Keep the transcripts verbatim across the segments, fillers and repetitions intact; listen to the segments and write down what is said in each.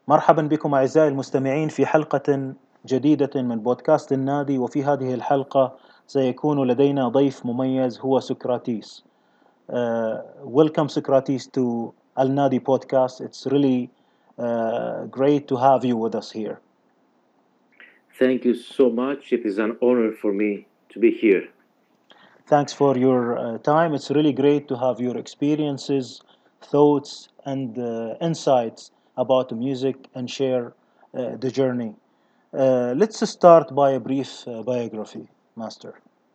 مرحبا بكم أعزائي المستمعين في حلقة جديدة من بودكاست النادي. وفي هذه الحلقة سيكون لدينا ضيف مميز هو سقراطيس. Uh, welcome Socrates to Al Nadi podcast. It's really uh, great to have you with us here. Thank you so much. It is an honor for me to be here. Thanks for your uh, time. It's really great to have your experiences, thoughts, and uh, insights about the music and share uh, the journey. Uh, let's start by a brief uh, biography, Master.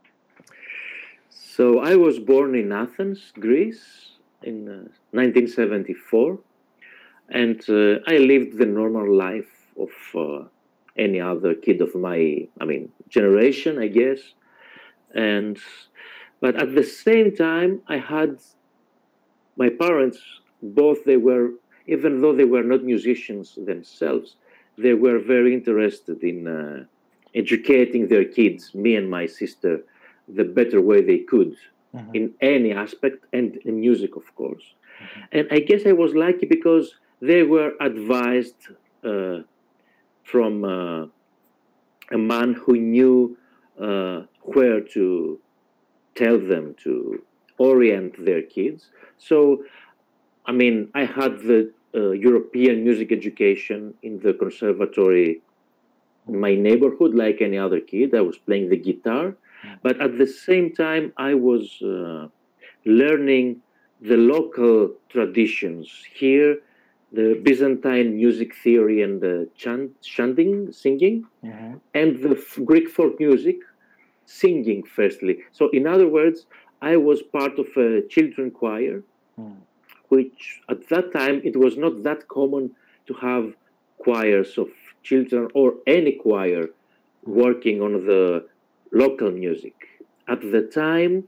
So I was born in Athens, Greece, in uh, nineteen seventy-four, and uh, I lived the normal life of uh, any other kid of my, I mean, generation, I guess. And but at the same time, I had my parents. Both they were, even though they were not musicians themselves, they were very interested in uh, educating their kids, me and my sister, the better way they could mm-hmm. in any aspect, and in music, of course. Mm-hmm. And I guess I was lucky because they were advised uh, from uh, a man who knew uh, where to tell them to orient their kids. So, I mean, I had the uh, European music education in the conservatory in my neighborhood, like any other kid. I was playing the guitar, but at the same time, I was uh, learning the local traditions here, the Byzantine music theory and the chant, chanting, singing, mm-hmm. and the f- Greek folk music, singing firstly. So, in other words, I was part of a children choir, mm. which at that time it was not that common to have choirs of children or any choir working on the local music. At the time,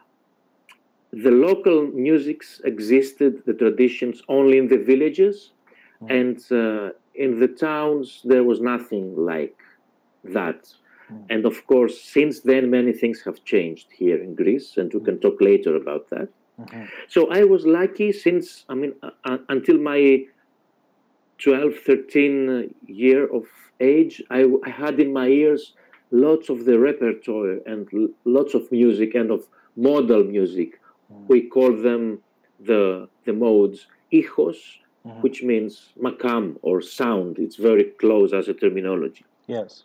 the local musics existed, the traditions, only in the villages, mm. and uh, in the towns there was nothing like that. Mm. And of course, since then, many things have changed here in Greece, and we can talk later about that. Mm-hmm. So I was lucky since, I mean, uh, until my twelve, thirteen year of age, I, I had in my ears lots of the repertoire and l- lots of music and of modal music. Mm. We call them the, the modes ichos, mm-hmm. which means makam or sound. It's very close as a terminology. Yes.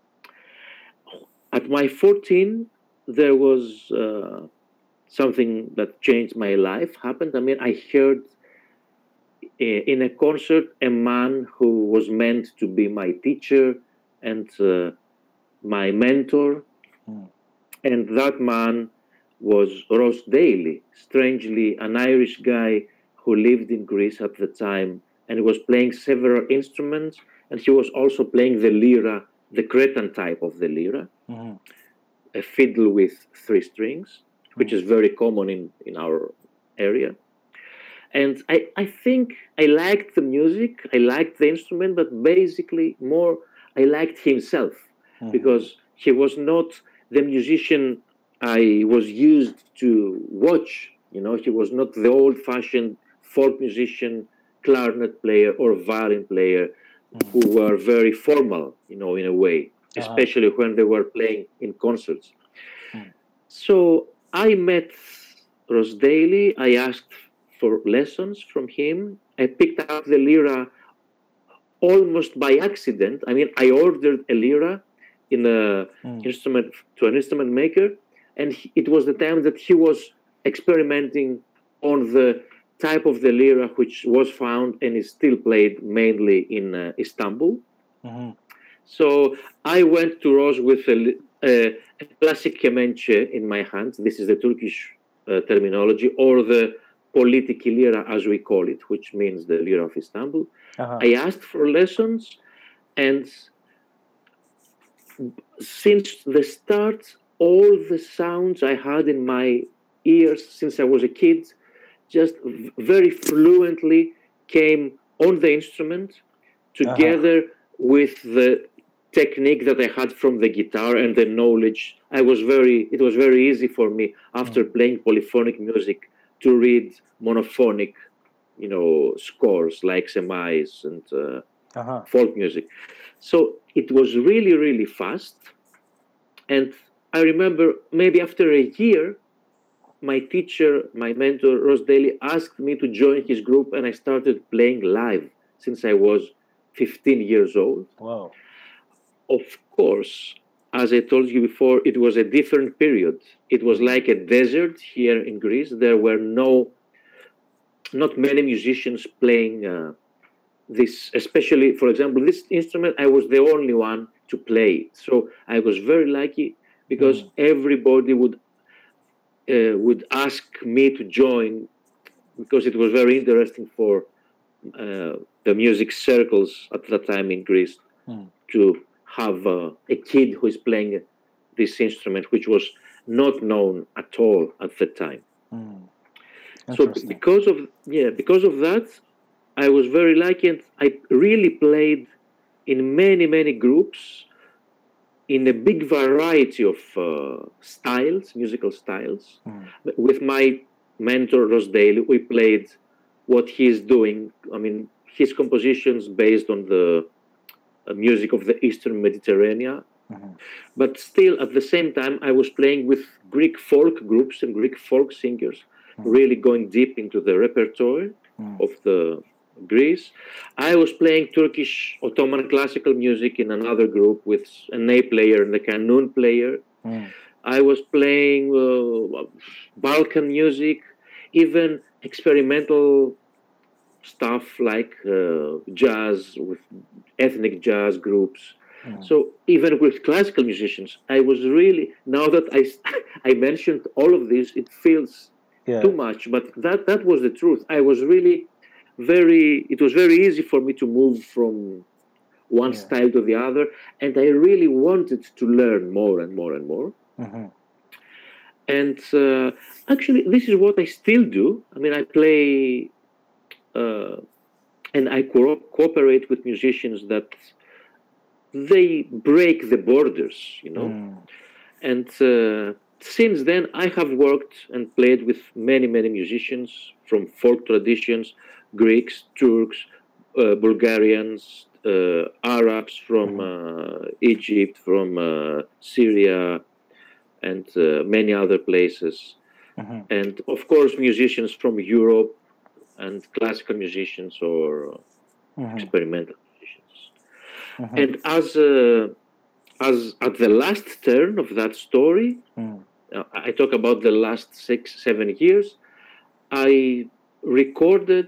At my fourteen, there was uh, something that changed my life happened. I mean, I heard in a concert a man who was meant to be my teacher and uh, my mentor. Mm. And that man was Ross Daly, strangely an Irish guy who lived in Greece at the time, and he was playing several instruments, and he was also playing the lira, the Cretan type of the lira, mm-hmm. a fiddle with three strings, which mm-hmm. is very common in, in our area. And I, I think I liked the music, I liked the instrument, but basically more I liked himself, mm-hmm. because he was not the musician I was used to watch. You know, he was not the old-fashioned folk musician, clarinet player or violin player, mm-hmm. who were very formal, you know, in a way, uh-huh. especially when they were playing in concerts. Mm-hmm. So I met Ross Daly. I asked for lessons from him. I picked up the lira almost by accident. I mean, I ordered a lira in a mm. instrument to an instrument maker, and he, it was the time that he was experimenting on the type of the lira which was found and is still played mainly in uh, Istanbul. Mm-hmm. So I went to Ross with a, a, a classic kemençe in my hands. This is the Turkish uh, terminology, or the politiki lira, as we call it, which means the lira of Istanbul. Uh-huh. I asked for lessons, and since the start, all the sounds I had in my ears since I was a kid just very fluently came on the instrument together uh-huh. with the technique that I had from the guitar and the knowledge. I was very, it was very easy for me after mm. playing polyphonic music to read monophonic, you know, scores like Semais and uh, Uh-huh. folk music. So it was really, really fast. And I remember maybe after a year, my teacher, my mentor, Ross Daly, asked me to join his group, and I started playing live since I was fifteen years old. Wow. Of course, as I told you before, it was a different period. It was like a desert here in Greece. There were no, not many musicians playing uh, this, especially, for example, this instrument, I was the only one to play it. So I was very lucky because Mm. everybody would uh, would ask me to join because it was very interesting for uh, the music circles at that time in Greece Mm. to have uh, a kid who is playing this instrument, which was not known at all at the time. Mm. So because of yeah, because of that, I was very lucky, and I really played in many many groups in a big variety of uh, styles, musical styles. Mm. With my mentor Ross Daly, we played what he's doing. I mean, his compositions based on the uh, music of the Eastern Mediterranean. Mm-hmm. But still, at the same time, I was playing with Greek folk groups and Greek folk singers, mm. really going deep into the repertoire mm. of the Greece. I was playing Turkish Ottoman classical music in another group with a ney player and a kanun player. Mm. I was playing uh, Balkan music, even experimental stuff like uh, jazz with ethnic jazz groups. Mm. So even with classical musicians, I was really, now that I, I mentioned all of this, it feels yeah. too much, but that, that was the truth. I was really very, it was very easy for me to move from one yeah. style to the other, and I really wanted to learn more and more and more. Mm-hmm. And uh, actually, this is what I still do. I mean, I play uh, and I co- cooperate with musicians that they break the borders, you know. Mm. And uh, since then, I have worked and played with many, many musicians from folk traditions, Greeks, Turks, uh, Bulgarians, uh, Arabs from uh, Egypt, from uh, Syria, and uh, many other places. Mm-hmm. And of course, musicians from Europe and classical musicians or mm-hmm. experimental musicians. Mm-hmm. And as uh, as at the last turn of that story, mm. uh, I talk about the last six, seven years, I recorded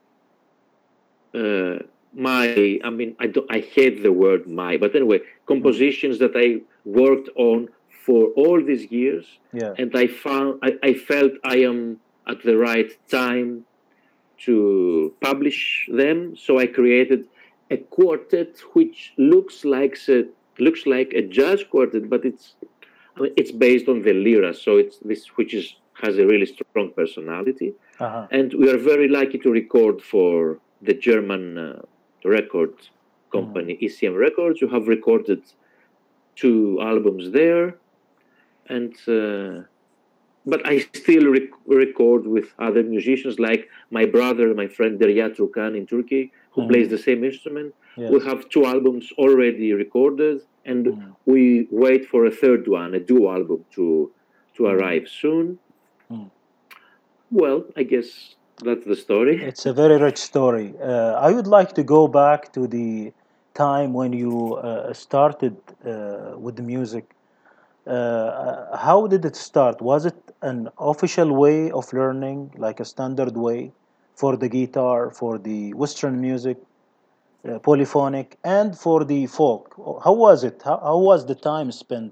uh, my, I mean, I, don't, I hate the word my, but anyway, compositions mm. that I worked on for all these years. Yeah. And I found, I, I felt I am at the right time to publish them. So I created a quartet which looks like a, looks like a jazz quartet, but it's I mean, it's based on the lira, so it's this which is has a really strong personality. Uh-huh. And we are very lucky to record for the German uh, record company mm. E C M Records. You have recorded two albums there, and. Uh, But I still rec- record with other musicians, like my brother, my friend Derya Turkan in Turkey, who mm. plays the same instrument. Yes. We have two albums already recorded, and mm. we wait for a third one, a duo album, to to mm. arrive soon. Mm. Well, I guess that's the story. It's a very rich story. Uh, I would like to go back to the time when you uh, started uh, with the music. Uh, how did it start? Was it an official way of learning, like a standard way for the guitar, for the Western music, uh, polyphonic, and for the folk? How was it? How, how was the time spent?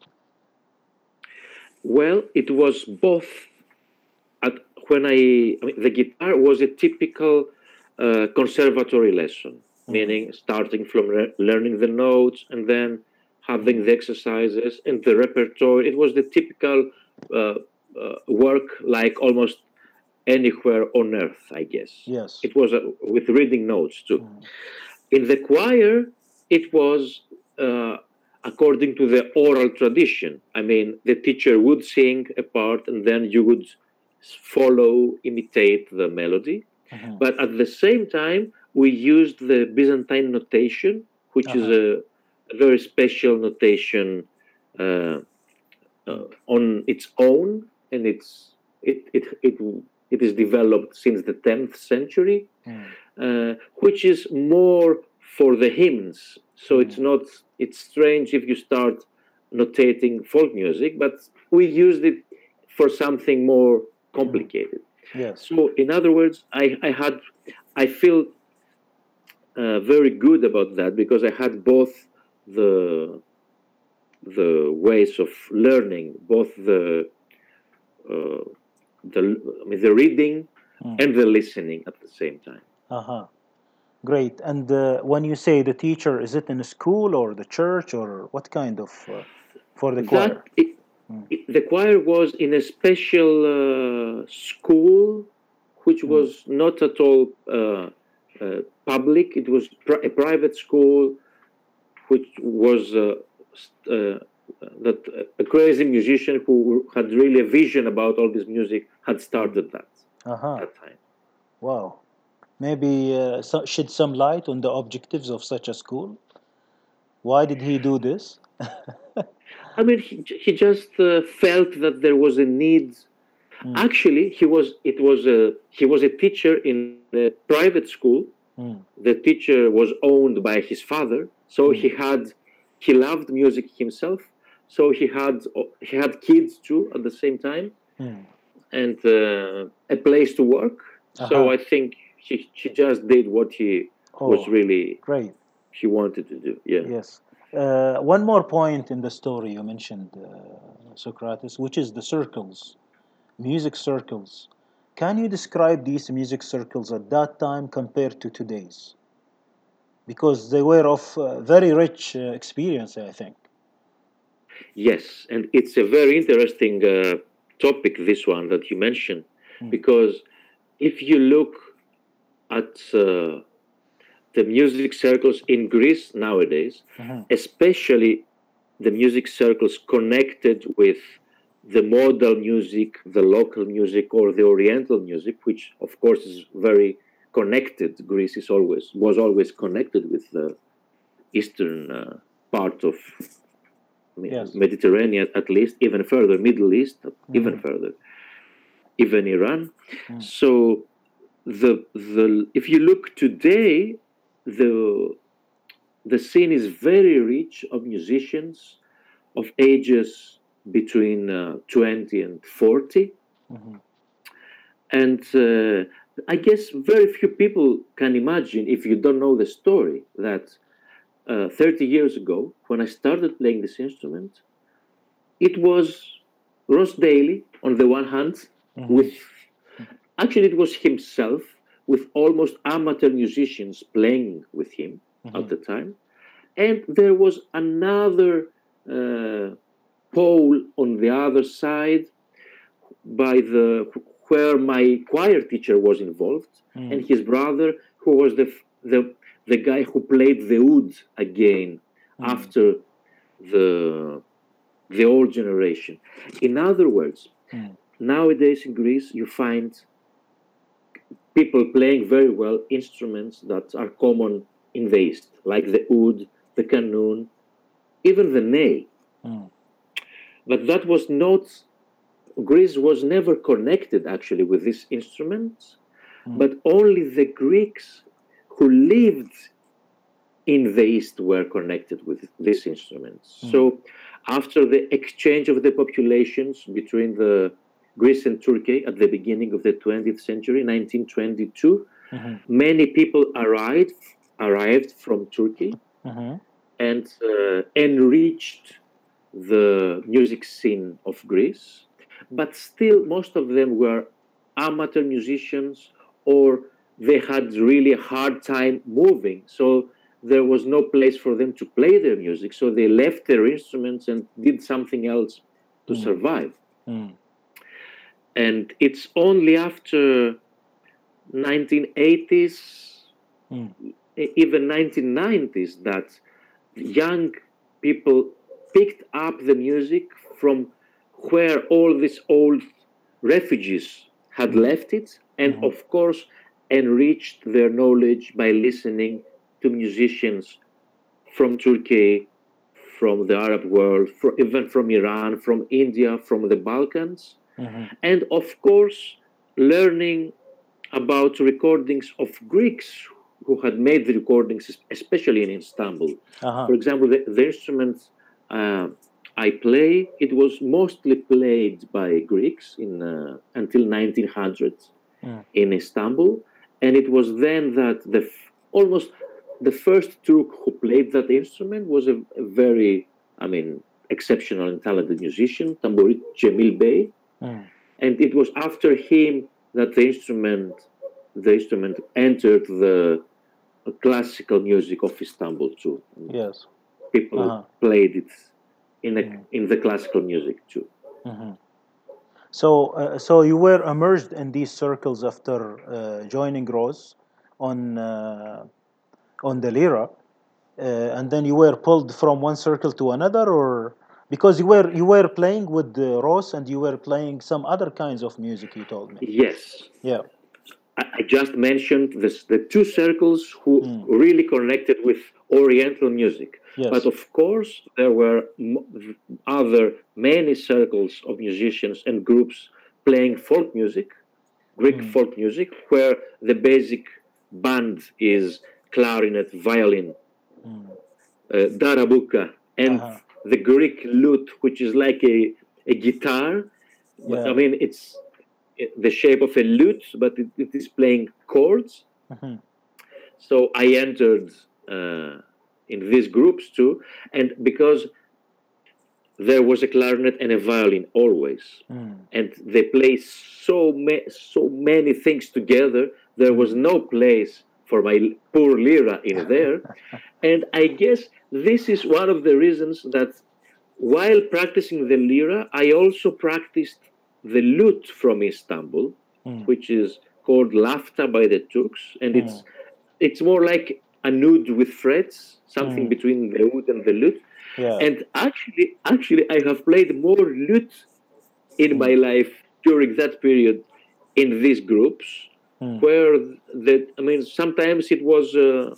Well, it was both. At, when I, I mean, the guitar was a typical uh, conservatory lesson, mm. meaning starting from re- learning the notes and then having the exercises and the repertoire. It was the typical uh, uh, work like almost anywhere on earth, I guess. Yes. It was uh, with reading notes too. Mm. In the choir, it was uh, according to the oral tradition. I mean, the teacher would sing a part and then you would follow, imitate the melody. Mm-hmm. But at the same time, we used the Byzantine notation, which Uh-huh. is a, a very special notation uh, uh, on its own, and it's it it it it is developed since the tenth century, Mm. uh, which is more for the hymns. So Mm. it's not it's strange if you start notating folk music, but we used it for something more complicated. Yes. So in other words, I, I had I feel uh, very good about that because I had both the the ways of learning, both the uh, the I mean, the reading Mm. and the listening at the same time. Uh-huh. Great. And uh, when you say the teacher, is it in a school or the church or what kind of uh, for the choir? That it, it, the choir was in a special uh, school, which Mm. was not at all uh, uh, public. It was pri- a private school, which was uh, uh, that a crazy musician who had really a vision about all this music had started that Uh-huh. that time. Wow. Maybe uh, so, shed some light on the objectives of such a school. Why did he do this? I mean, he, he just uh, felt that there was a need. Mm. Actually, he was it was a he was a teacher in a private school. Mm. The teacher was owned by his father, so Mm. he had he loved music himself. So he had he had kids too at the same time, Mm. and uh, a place to work. So Uh-huh. I think he he just did what he was Oh, really great. he wanted to do. Yeah. Yes. Uh, one more point in the story you mentioned, uh, Socrates, which is the circles, music circles. Can you describe these music circles at that time compared to today's? Because they were of uh, very rich uh, experience, I think. Yes, and it's a very interesting uh, topic, this one that you mentioned, Mm. because if you look at uh, the music circles in Greece nowadays, Mm-hmm. especially the music circles connected with the modal music, the local music, or the Oriental music, which of course is very connected. Greece is always was always connected with the eastern uh, part of I mean, Yes. Mediterranean, at least, even further, Middle East, Mm-hmm. even further, even Iran. Mm. So the the if you look today, the the scene is very rich of musicians of ages between uh, twenty and forty. Mm-hmm. And uh, I guess very few people can imagine, if you don't know the story, that uh, thirty years ago, when I started playing this instrument, it was Ross Daly on the one hand, Mm-hmm. with actually it was himself with almost amateur musicians playing with him Mm-hmm. at the time, and there was another uh, pole on the other side by the where my choir teacher was involved, Mm. and his brother, who was the the the guy who played the oud again Mm. after the the old generation. In other words, Mm. nowadays in Greece you find people playing very well instruments that are common in the East, like the oud, the kanun, even the ney. Mm. But that was not, Greece was never connected actually with these instruments, Mm. but only the Greeks who lived in the East were connected with these instruments. Mm. So after the exchange of the populations between the Greece and Turkey at the beginning of the twentieth century, nineteen twenty-two, Mm-hmm. many people arrived arrived from Turkey Mm-hmm. and uh, enriched the music scene of Greece, but still most of them were amateur musicians, or they had really a hard time moving, so there was no place for them to play their music, so they left their instruments and did something else to Mm. survive. Mm. And it's only after nineteen eighties, Mm. even nineteen nineties, that young people picked up the music from where all these old refugees had Mm. left it, and Mhm. of course enriched their knowledge by listening to musicians from Turkey, from the Arab world, from, even from Iran, from India, from the Balkans, Mm-hmm. and of course, learning about recordings of Greeks who had made the recordings, especially in Istanbul. Uh-huh. For example, the, the instrument uh, I play, it was mostly played by Greeks in uh, until nineteen hundred Mm. in Istanbul, and it was then that the f- almost the first Turk who played that instrument was a, a very, I mean, exceptional and talented musician, Tamburit Cemil Bey, Mm. and it was after him that the instrument, the instrument entered the classical music of Istanbul too. Yes. People Uh-huh. played it in a, Mm. in the classical music too. Mm-hmm. So, uh, so you were immersed in these circles after uh, joining Rose on uh, on the lira, uh, and then you were pulled from one circle to another, or because you were you were playing with the Rose and you were playing some other kinds of music. You told me. Yes, Yeah. I, I just mentioned this, the two circles who Mm. really connected with Oriental music. Yes. But of course, there were m- other many circles of musicians and groups playing folk music, Greek Mm. folk music, where the basic band is clarinet, violin, Mm. uh, darabuka, and Uh-huh. the Greek lute, which is like a, a guitar. But Yeah. I mean, it's the shape of a lute, but it, it is playing chords. Mm-hmm. So I entered uh, in these groups too, and because there was a clarinet and a violin always, Mm. and they play so ma- so many things together. There was no place for my poor lira in there, and I guess this is one of the reasons that while practicing the lira, I also practiced the lute from Istanbul, Mm. which is called lafta by the Turks, and it's Mm. it's more like a oud with frets, something Mm. between the oud and the lute. Yeah. And actually, actually, I have played more lute in Mm. my life during that period in these groups, Mm. where that I mean, sometimes it was uh,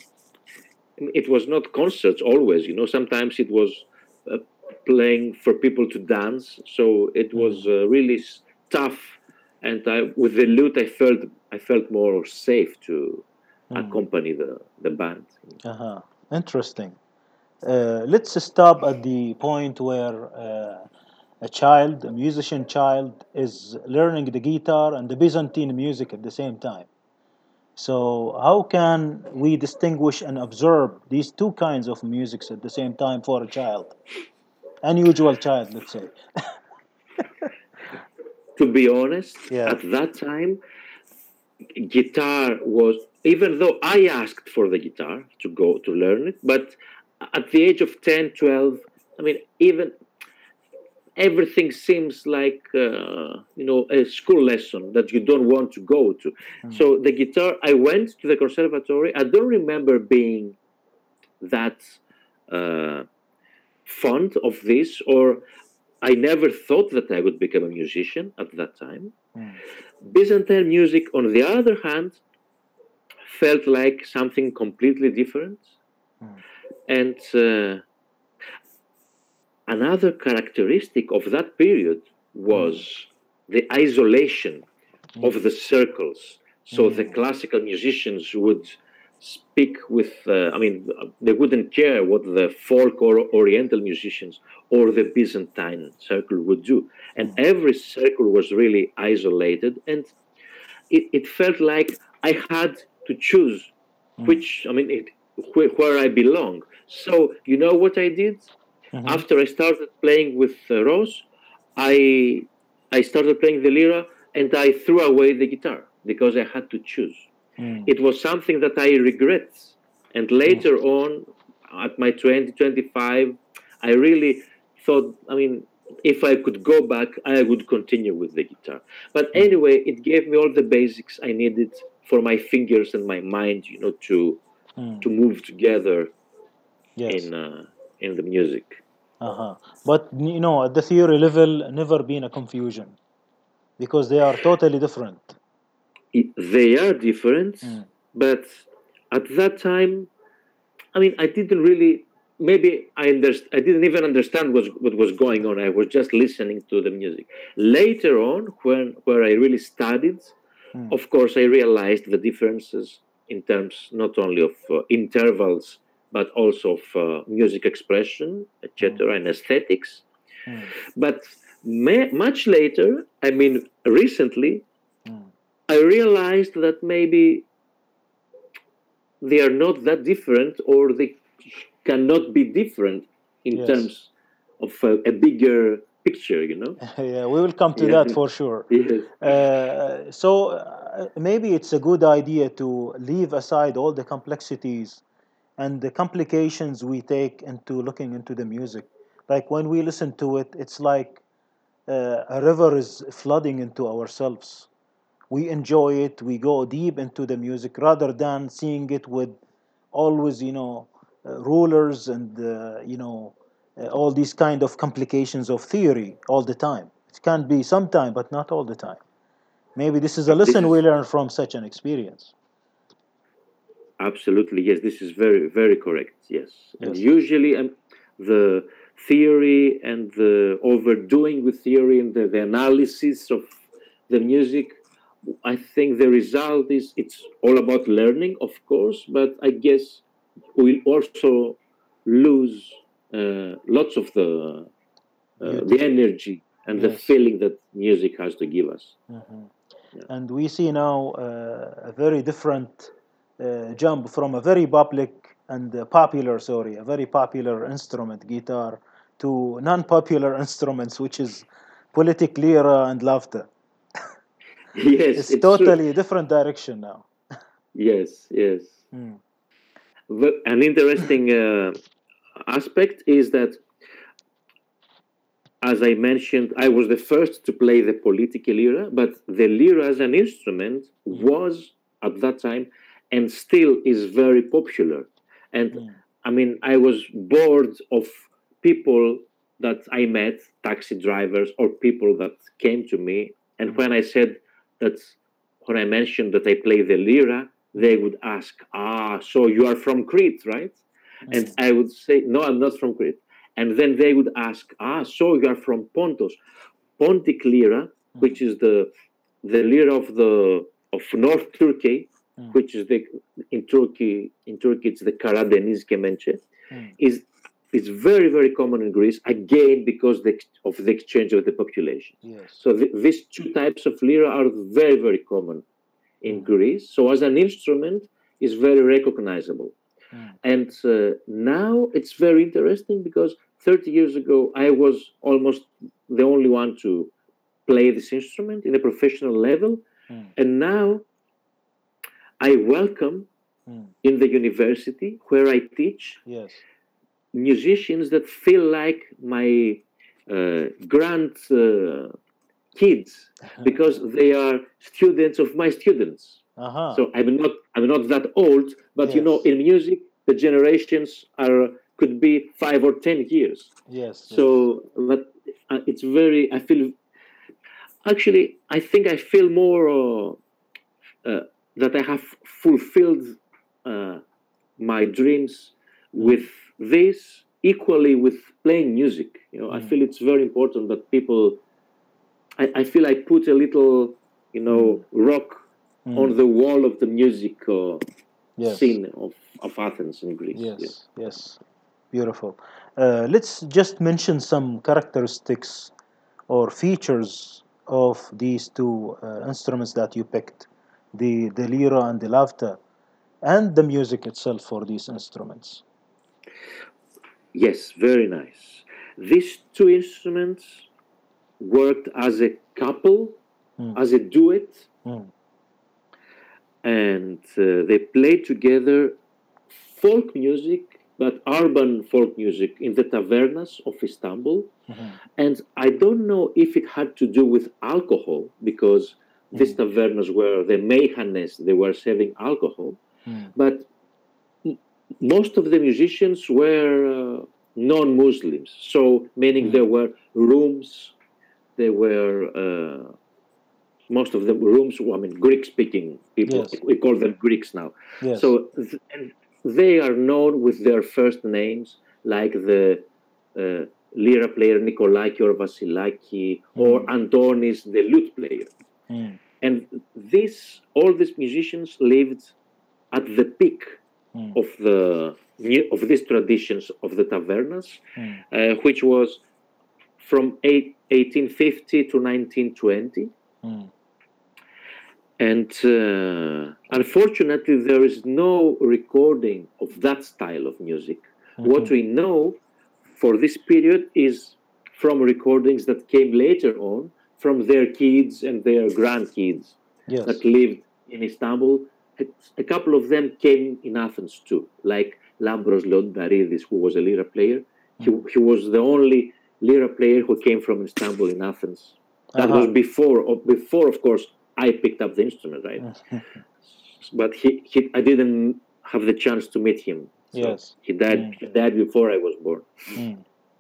it was not concerts always. You know, sometimes it was uh, playing for people to dance. So it was uh, really s- tough, and I, with the lute, I felt I felt more safe to Mm. accompany the the band. Uh-huh. Interesting. Uh, let's stop at the point where uh, a child, a musician child, is learning the guitar and the Byzantine music at the same time. So, how can we distinguish and observe these two kinds of musics at the same time for a child? Unusual child, let's say. To be honest, Yeah. at that time, guitar was, even though I asked for the guitar to go to learn it, but at the age of ten, twelve, I mean, even everything seems like uh, you know a school lesson that you don't want to go to. Mm. So the guitar, I went to the conservatory. I don't remember being that uh, fond of this, or I never thought that I would become a musician at that time. Mm. Byzantine music, on the other hand, felt like something completely different. Mm. And uh, another characteristic of that period was the isolation Mm. of the circles. So the Mm. classical musicians would speak with, uh, I mean, they wouldn't care what the folk or Oriental musicians or the Byzantine circle would do. And every circle was really isolated. And it, it felt like I had to choose Mm. which, I mean, it, where, where I belong. So, you know what I did? Mhm. After I started playing with uh, Rose, I I started playing the lira and I threw away the guitar because I had to choose. Mm. It was something that I regret. And later on, at my twenty, twenty-five, I really thought, I mean, if I could go back, I would continue with the guitar. But anyway, it gave me all the basics I needed for my fingers and my mind, you know, to Mm. to move together Yes. in uh, in the music. Uh-huh. But you know, at the theory level, never been a confusion because they are totally different. it, they are different, Mm. but at that time, I mean, I didn't really. Maybe I underst- I didn't even understand what what was going on. I was just listening to the music. Later on, when where I really studied, Mm. of course, I realized the differences in terms not only of uh, intervals but also of uh, music expression, et cetera, and aesthetics. Mm. But ma- much later, I mean, recently, Mm. I realized that maybe they are not that different, or they cannot be different in Yes. terms of a, a bigger picture, you know? Yeah, we will come to Yeah. that for sure. Yes. Uh, so uh, maybe it's a good idea to leave aside all the complexities and the complications we take into looking into the music. Like when we listen to it, it's like uh, a river is flooding into ourselves. We enjoy it, we go deep into the music rather than seeing it with always, you know, uh, rulers and, uh, you know, uh, all these kind of complications of theory all the time. It can be sometime, but not all the time. Maybe this is a This lesson we is learn from such an experience. absolutely, yes, this is very, very correct. Yes. And Yes. usually um, the theory and the overdoing with theory and the, the analysis of the music, I think the result is it's all about learning, of course, but I guess we'll also lose uh, lots of the uh, the Beauty. energy and the Yes. feeling that music has to give us. Hmm. Yeah. And we see now uh, a very different uh, jump from a very public and uh, popular, sorry, a very popular instrument, guitar, to non-popular instruments, which is politic lira and laughter. Yes, It's it's true. totally a different direction now. Yes, yes. Mm. The- An interesting uh, aspect is that, as I mentioned, I was the first to play the political lira, but the lira as an instrument Mm. was at that time and still is very popular. And Mm. I mean, I was bored of people that I met, taxi drivers or people that came to me. And Mm. when I said that, when I mentioned that I play the lira, they would ask, ah, so you are from Crete, right? And Mm. I would say, no, I'm not from Crete. And then they would ask, ah, so you are from Pontus. Pontic lira, which is the the lira of the of North Turkey, Mm. which is the in Turkey in Turkey it's the Karadeniz kemençe, Mm. is is very very common in Greece again because the, of the exchange of the population. Yes. So the, these two types of lira are very very common in Mm. Greece. So as an instrument, is very recognizable. Mm. And uh, now it's very interesting because thirty years ago, I was almost the only one to play this instrument in a professional level. Mm. And now I welcome Mm. in the university where I teach Yes. musicians that feel like my uh, grand uh, kids because they are students of my students. Uh-huh. So I'm not I'm not that old, but you know, Yes. in music, the generations are could be five or ten years. Yes. So, but uh, it's very. I feel actually. I think I feel more uh, uh, that I have fulfilled uh, my dreams with this equally with playing music. You know, I Mm. feel it's very important that people. I, I feel I put a little, you know, rock Mm. on the wall of the music uh, Yes. scene of, of Athens in Greece. Yes. Yeah. Yes. Beautiful. Uh, let's just mention some characteristics or features of these two uh, instruments that you picked, the the lira and the lavta, and the music itself for these instruments. Yes, very nice. These two instruments worked as a couple, Mm. as a duet, Mm. and uh, they played together folk music, but urban folk music in the tavernas of Istanbul. Mhm. And I don't know if it had to do with alcohol, because these Mm. tavernas were the meihanes, they were serving alcohol, Mm. but m- most of the musicians were uh, non-Muslims. So, meaning Mm. there were rooms, there were uh, most of the rooms, I mean, Greek-speaking people, Yes. we call them Greeks now. Yes. So th- and they are known with their first names, like the uh, lira player Nikolai Vasilaki or Antonis, the lute player. Mm. And this, all these musicians lived at the peak Mm. of the of these traditions of the tavernas, Mm. uh, which was from eight, eighteen fifty to nineteen twenty. Mm. And uh, unfortunately, there is no recording of that style of music. Mm-hmm. What we know for this period is from recordings that came later on from their kids and their grandkids Yes. that lived in Istanbul. A couple of them came in Athens too, like Lambros Leondaridis, who was a lira player. He, he was the only lira player who came from Istanbul in Athens. That Uh-huh. was before, before, of course, I picked up the instrument, right? But he, he, I didn't have the chance to meet him. So Yes. He died, Mm. he died before I was born. Mm.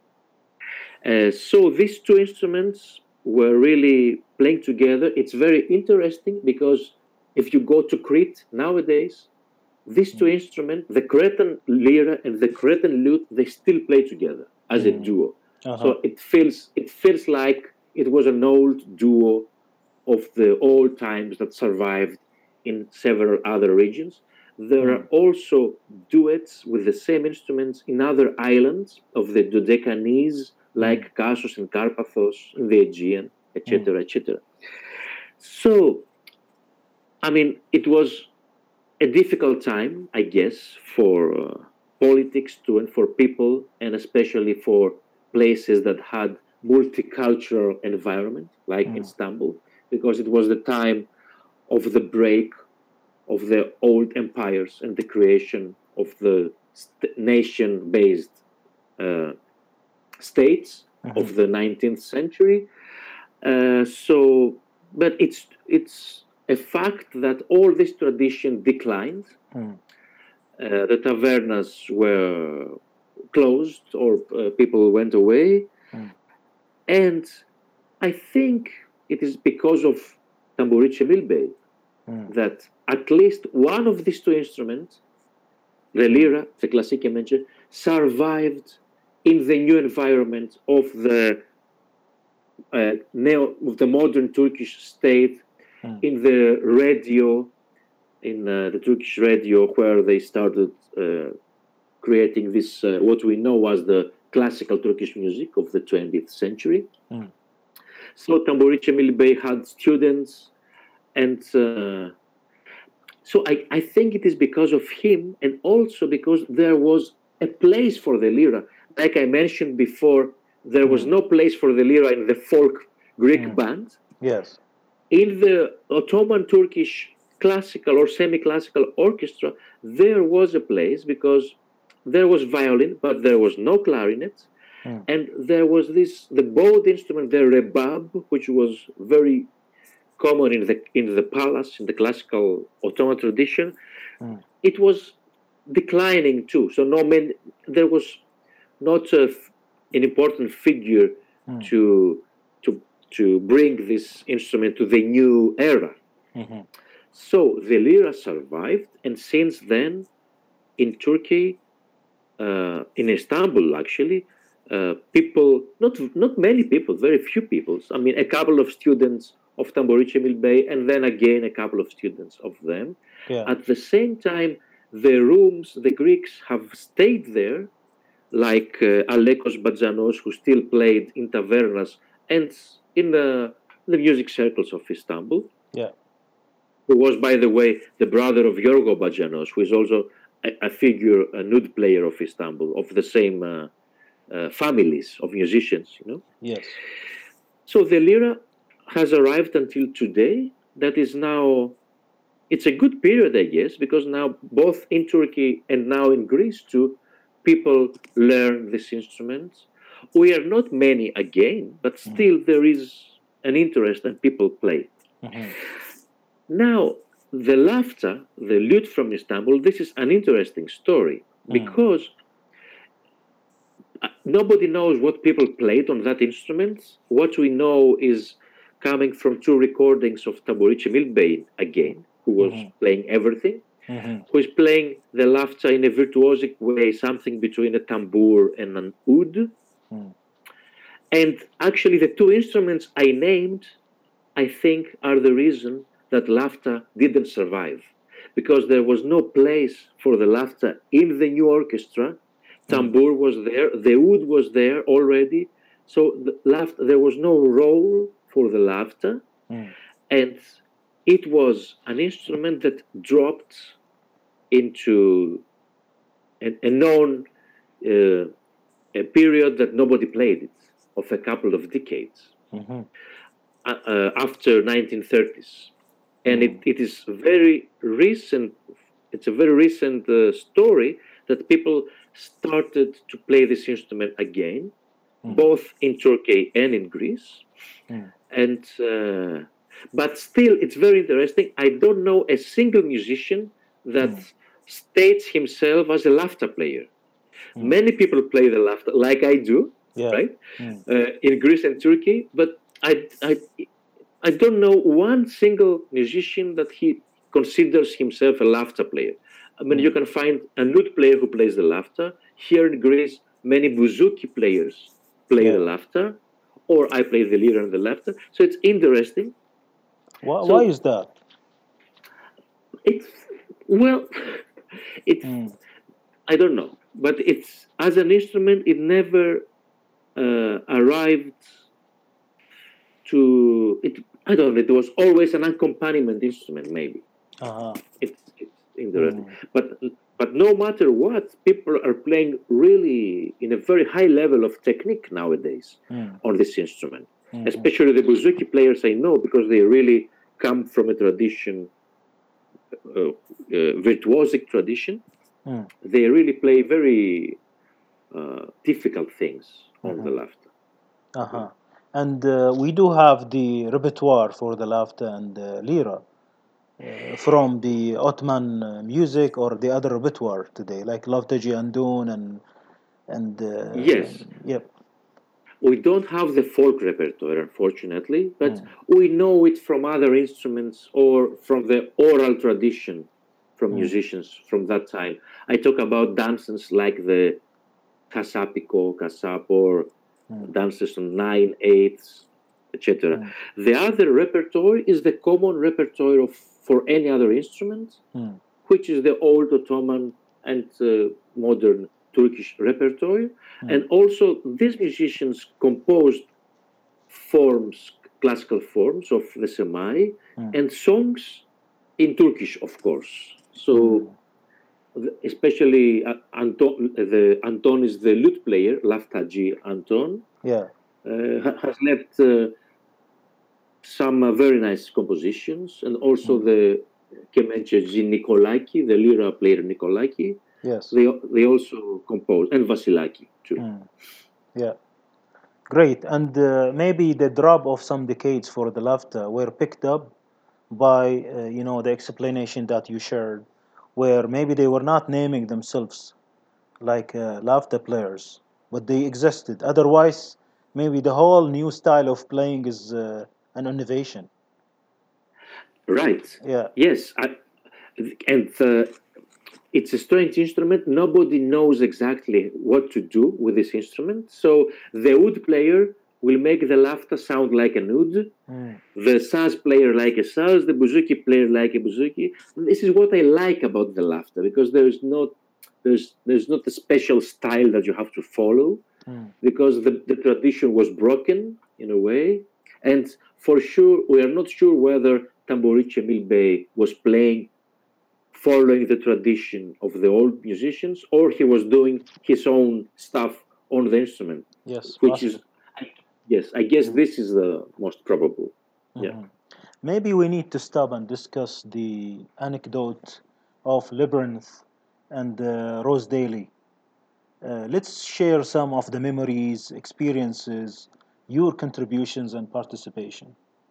Uh, so these two instruments were really playing together. It's very interesting because if you go to Crete nowadays, these two instruments, the Cretan lyra and the Cretan lute, they still play together as a Mm. duo. Uh-huh. So it feels it feels like it was an old duo of the old times that survived in several other regions. There are also duets with the same instruments in other islands of the Dodecanese, like Kassos and Karpathos, in the Aegean, et cetera, et cetera. So, I mean, it was a difficult time, I guess, for uh, politics too, and for people, and especially for places that had multicultural environment, like Mm. Istanbul, because it was the time of the break of the old empires and the creation of the st- nation-based uh, states Mhm. of the nineteenth century. Uh, so, but it's it's a fact that all this tradition declined. Mm. Uh, the tavernas were closed, or uh, people went away, Mm. and I think it is because of Tamburice Milbey Mm. that at least one of these two instruments, the lira, the classique mentioned, survived in the new environment of the uh, neo, of the modern Turkish state, Mm. in the radio, in uh, the Turkish radio, where they started uh, creating this, uh, what we know as the classical Turkish music of the twentieth century. Mm. So Tamburice Milbey had students, and uh, so I, I think it is because of him, and also because there was a place for the lira. Like I mentioned before, there was Mm. no place for the lira in the folk Greek Mm. band. Yes. In the Ottoman Turkish classical or semi-classical orchestra, there was a place because there was violin, but there was no clarinet. Mm. And there was this, the bowed instrument, the rebab, which was very common in the in the palace, in the classical Ottoman tradition. Mm. It was declining too. So no man, there was not a, an important figure Mm. to to to bring this instrument to the new era. Mm-hmm. So the lira survived, and since then, in Turkey, uh, in Istanbul, actually, uh, people, not not many people, very few people. I mean, a couple of students of Tamburice Milbey, and then again a couple of students of them. Yeah. At the same time, the rooms, the Greeks have stayed there, like uh, Alekos Badzanos, who still played in tavernas and in the, the music circles of Istanbul. Yeah. Who was, by the way, the brother of Yorgo Badzanos, who is also a, a figure, a nude player of Istanbul, of the same uh, uh, families of musicians, you know. Yes. So the lira has arrived until today. That is now, it's a good period, I guess, because now both in Turkey and now in Greece too, people learn this instrument. We are not many again, but still there is an interest and people play. Mm-hmm. Now, the lafta, the lute from Istanbul, this is an interesting story because nobody knows what people played on that instrument. What we know is coming from two recordings of Tamburice Milbey again, who was Mhm. playing everything, Mhm. who is playing the lafta in a virtuosic way, something between a tambour and an oud. Mm. And actually, the two instruments I named, I think, are the reason that lafta didn't survive, because there was no place for the lafta in the new orchestra. Tambour was there, the oud was there already, so the lafta, there was no role for the lafta, Mm. and it was an instrument that dropped into a, a known uh, a period that nobody played it, of a couple of decades. Mhm. Uh, uh, after nineteen thirties, and Mm. it, it is very recent. It's a very recent uh, story that people started to play this instrument again, Mm. both in Turkey and in Greece. Mm. And uh, but still, it's very interesting. I don't know a single musician that Mm. states himself as a lafta player. Mm. Many people play the lafta, like I do, Yeah. right, Mm. uh, in Greece and Turkey, but I, I, I don't know one single musician that he considers himself a lafta player. I mean, Mm. you can find a lute player who plays the lafta. Here in Greece, many bouzouki players play the Yeah. lafta, or I play the lira and the lafta. So it's interesting. Why, So why is that? it's, well, it's, Mm. I don't know, but it's, as an instrument, it never uh, arrived to it. I don't know. It was always an accompaniment instrument, maybe. Uh-huh. It's, it's interesting, Mm. but but no matter what, people are playing really in a very high level of technique nowadays Mm. on this instrument. Mhm. Especially the bouzouki players, I know, because they really come from a tradition, uh, uh, virtuosic tradition. Mm. They really play very uh, difficult things on the Mhm. lafta. Uh-huh. And uh, we do have the repertoire for the lafta and uh, lira uh, from the Ottoman uh, music or the other repertoire today, like Lavtaji Andun and and uh, Yes, yep. we don't have the folk repertoire, unfortunately, but Mm. we know it from other instruments or from the oral tradition from Mm. musicians from that time. I talk about dances like the Kasapiko, Kasap, or Mm. dances on nine eighths, et cetera. Mm. The other repertoire is the common repertoire of for any other instrument, Mm. which is the old Ottoman and uh, modern Turkish repertoire. Mm. And also, these musicians composed forms, classical forms of the semai, Mm. and songs in Turkish, of course. So, Mm. especially uh, Anton, the Anton is the lute player, Laftaji Anton, Yeah. uh, has left uh, some uh, very nice compositions, and also Mm. the Kemençeci Nikolaki, the lira player Nikolaki, Yes. they they also composed, and Vasilaki too. Mm. Yeah. Great. And uh, maybe the drop of some decades for the lafta were picked up by uh, you know the explanation that you shared, where maybe they were not naming themselves like uh, lafta players, but they existed. Otherwise, maybe the whole new style of playing is uh, an innovation. Right. Yeah. Yes. I, and uh, it's a strange instrument. Nobody knows exactly what to do with this instrument. So the oud player will make the lafta sound like an oud, Mm. the saz player like a saz, the bouzouki player like a bouzouki. This is what I like about the lafta, because there is not there's there's not a special style that you have to follow, Mm. because the, the tradition was broken in a way. And for sure, we are not sure whether Tamburice Milbey was playing following the tradition of the old musicians, or he was doing his own stuff on the instrument, Yes, which is, possible. yes, I guess Mm. this is the most probable. Yeah. Mhm. Maybe we need to stop and discuss the anecdote of Labyrinth and uh, Rose Daly. Uh, let's share some of the memories, experiences, your contributions, and participation.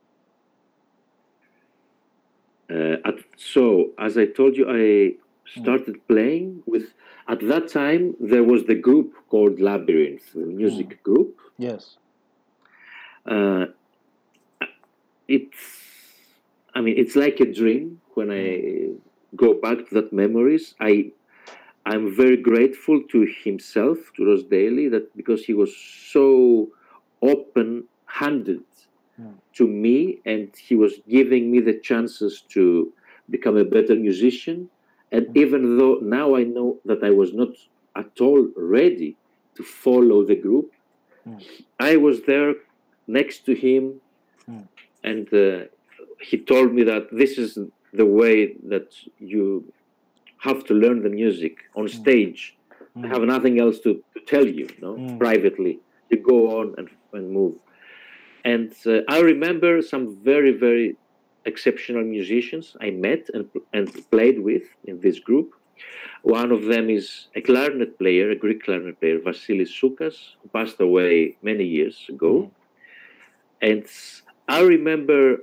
Uh, at, so, as I told you, I Mm. started playing with, at that time, there was the group called Labyrinth, the music Mm. group. Yes. Uh, it's, I mean, it's like a dream when I go back to that memories. I, I'm very grateful to himself, to Ross Daly, that because he was so open-handed Mm. to me, and he was giving me the chances to become a better musician. And Mm. even though now I know that I was not at all ready to follow the group, Mm. I was there next to him, Mm. and uh, he told me that this is the way that you have to learn the music on stage. I have nothing else to, to tell you, no? Mm. Privately. You go on and, and move. And uh, I remember some very, very exceptional musicians I met and, and played with in this group. One of them is a clarinet player, a Greek clarinet player, Vasilis Soukas, who passed away many years ago. Mm. And I remember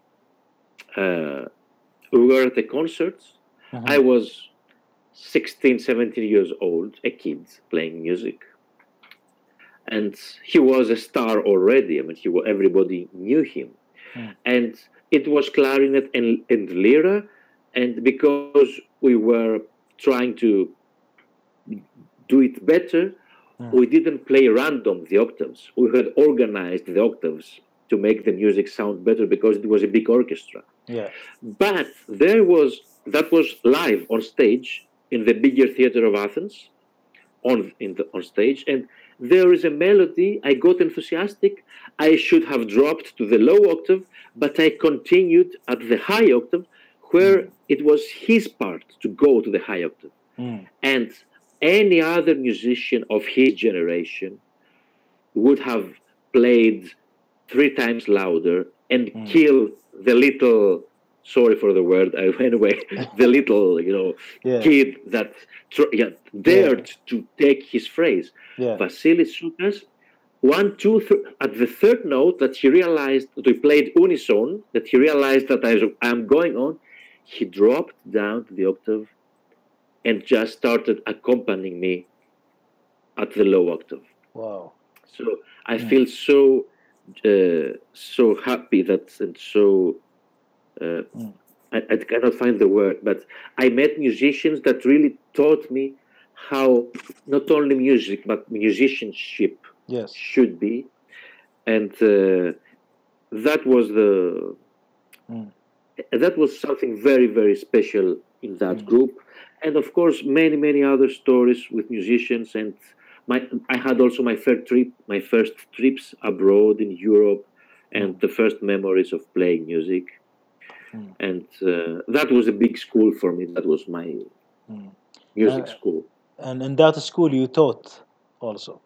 uh, we were at a concert. Mhm. I was sixteen, seventeen years old, a kid playing music. And he was a star already. I mean, he was, everybody knew him. Mm. And it was clarinet and, and lira. And because we were trying to do it better, Mm. we didn't play random the octaves. We had organized the octaves to make the music sound better because it was a big orchestra. Yeah. But there was, that was live on stage in the bigger theater of Athens, on in the on stage, and there is a melody. I got enthusiastic. I should have dropped to the low octave, but I continued at the high octave, where Mm. it was his part to go to the high octave. Mm. And any other musician of his generation would have played three times louder and Mm. kill the little, sorry for the word, I anyway, the little, you know, Yeah. kid that tr- yeah, dared to take his phrase. Yeah. Vasilis Soukas, one, two, th- at the third note that he realized that we played unison, that he realized that I, I'm going on, he dropped down to the octave and just started accompanying me at the low octave. Wow. So I Mm. feel so uh, so happy that and so uh, Mm. I, I cannot find the word, but I met musicians that really taught me how not only music but musicianship Yes. should be, and uh, that was the Mm. that was something very very special in that Mm. group, and of course many many other stories with musicians. And my I had also my first trip, my first trips abroad in Europe, and Mm. the first memories of playing music. Mm. And uh, that was a big school for me. That was my Mm. music Uh, school. and in that school you taught also.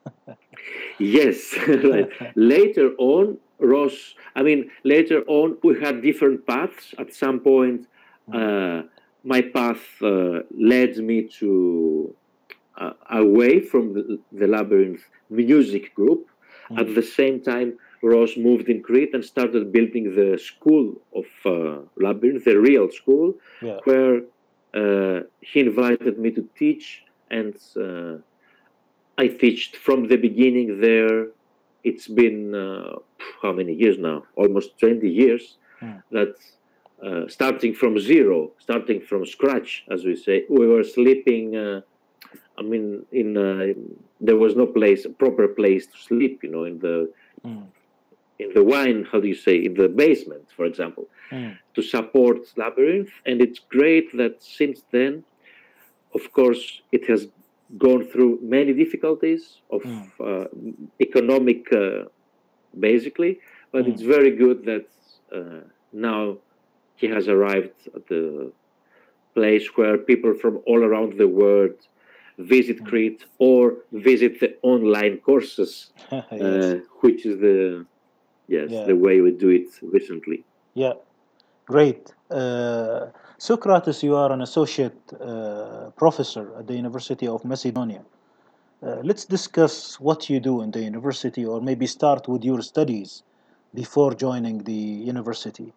Yes, right. Later on, Ross, I mean, later on, we had different paths. At some point, uh, my path uh, led me to uh, away from the, the Labyrinth music group. Mm. At the same time, Ross moved in Crete and started building the school of uh, Labyrinth, the real school, Yeah. where uh, he invited me to teach, and uh, I teached from the beginning there. It's been uh, how many years now? Almost twenty years. Mm. That uh, starting from zero, starting from scratch, as we say, we were sleeping. Uh, I mean, in uh, there was no place, proper place to sleep. You know, in the Mm. in the wine. How do you say? In the basement, for example, Mm. to support Labyrinth. And it's great that since then, of course, it has gone through many difficulties of Mm. uh, economic, uh, basically, but Mm. it's very good that uh, now he has arrived at the place where people from all around the world visit Crete or visit the online courses, Yes. uh, which is the yes Yeah. the way we do it recently. Yeah. Great. Uh, Socrates, you are an associate uh, professor at the University of Macedonia. Uh, let's discuss what you do in the university, or maybe start with your studies before joining the university.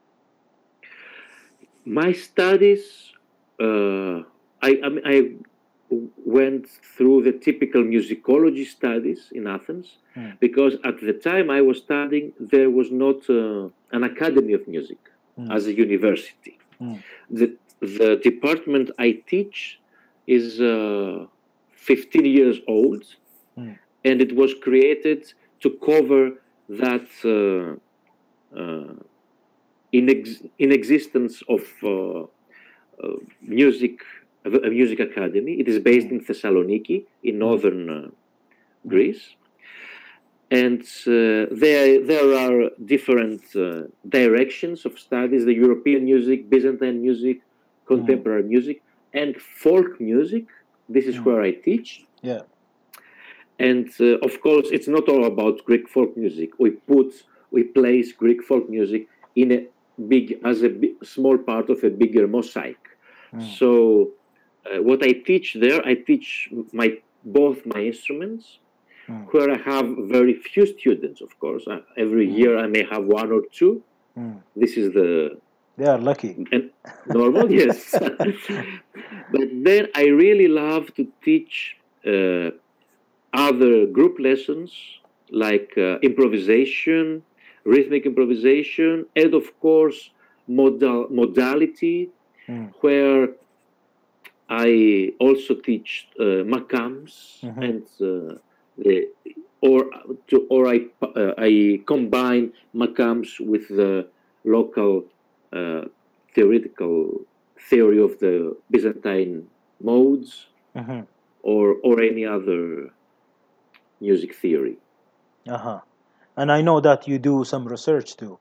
My studies, uh, I, I, mean, I went through the typical musicology studies in Athens, Mm. because at the time I was studying, there was not uh, an academy of music Mm. as a university. Mm. The, the department I teach is uh, fifteen years old, Mm. and it was created to cover that uh, uh, in, ex- in existence of uh, uh, music, a music academy. It is based Mm. in Thessaloniki, in northern uh, Greece. And uh, there, there are different uh, directions of studies: the European music, Byzantine music, contemporary music, and folk music. This is Mm. where I teach. Yeah. And uh, of course, it's not all about Greek folk music. We put, we place Greek folk music in a big, as a big, small part of a bigger mosaic. Mm. So, uh, what I teach there, I teach my both my instruments, Mm. where I have very few students, of course. Uh, every Mm. year I may have one or two. Mm. This is the They are lucky. and normal, yes. But then I really love to teach uh, other group lessons like uh, improvisation, rhythmic improvisation, and of course modal modality, Mm. where I also teach uh, makams Mhm. and uh, the, or to, or I uh, I combine makams with the local uh, theoretical theory of the Byzantine modes, Mhm. or or any other music theory. Uh-huh. And I know that you do some research too.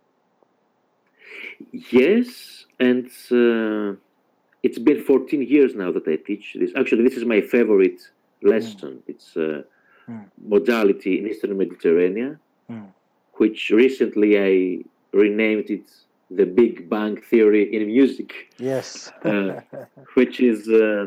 Yes, and uh, it's been fourteen years now that I teach this. Actually, this is my favorite lesson. It's uh, Mm. modality in Eastern Mediterranean, Mm. which recently I renamed it the Big Bang Theory in music, Yes. uh, which is, uh,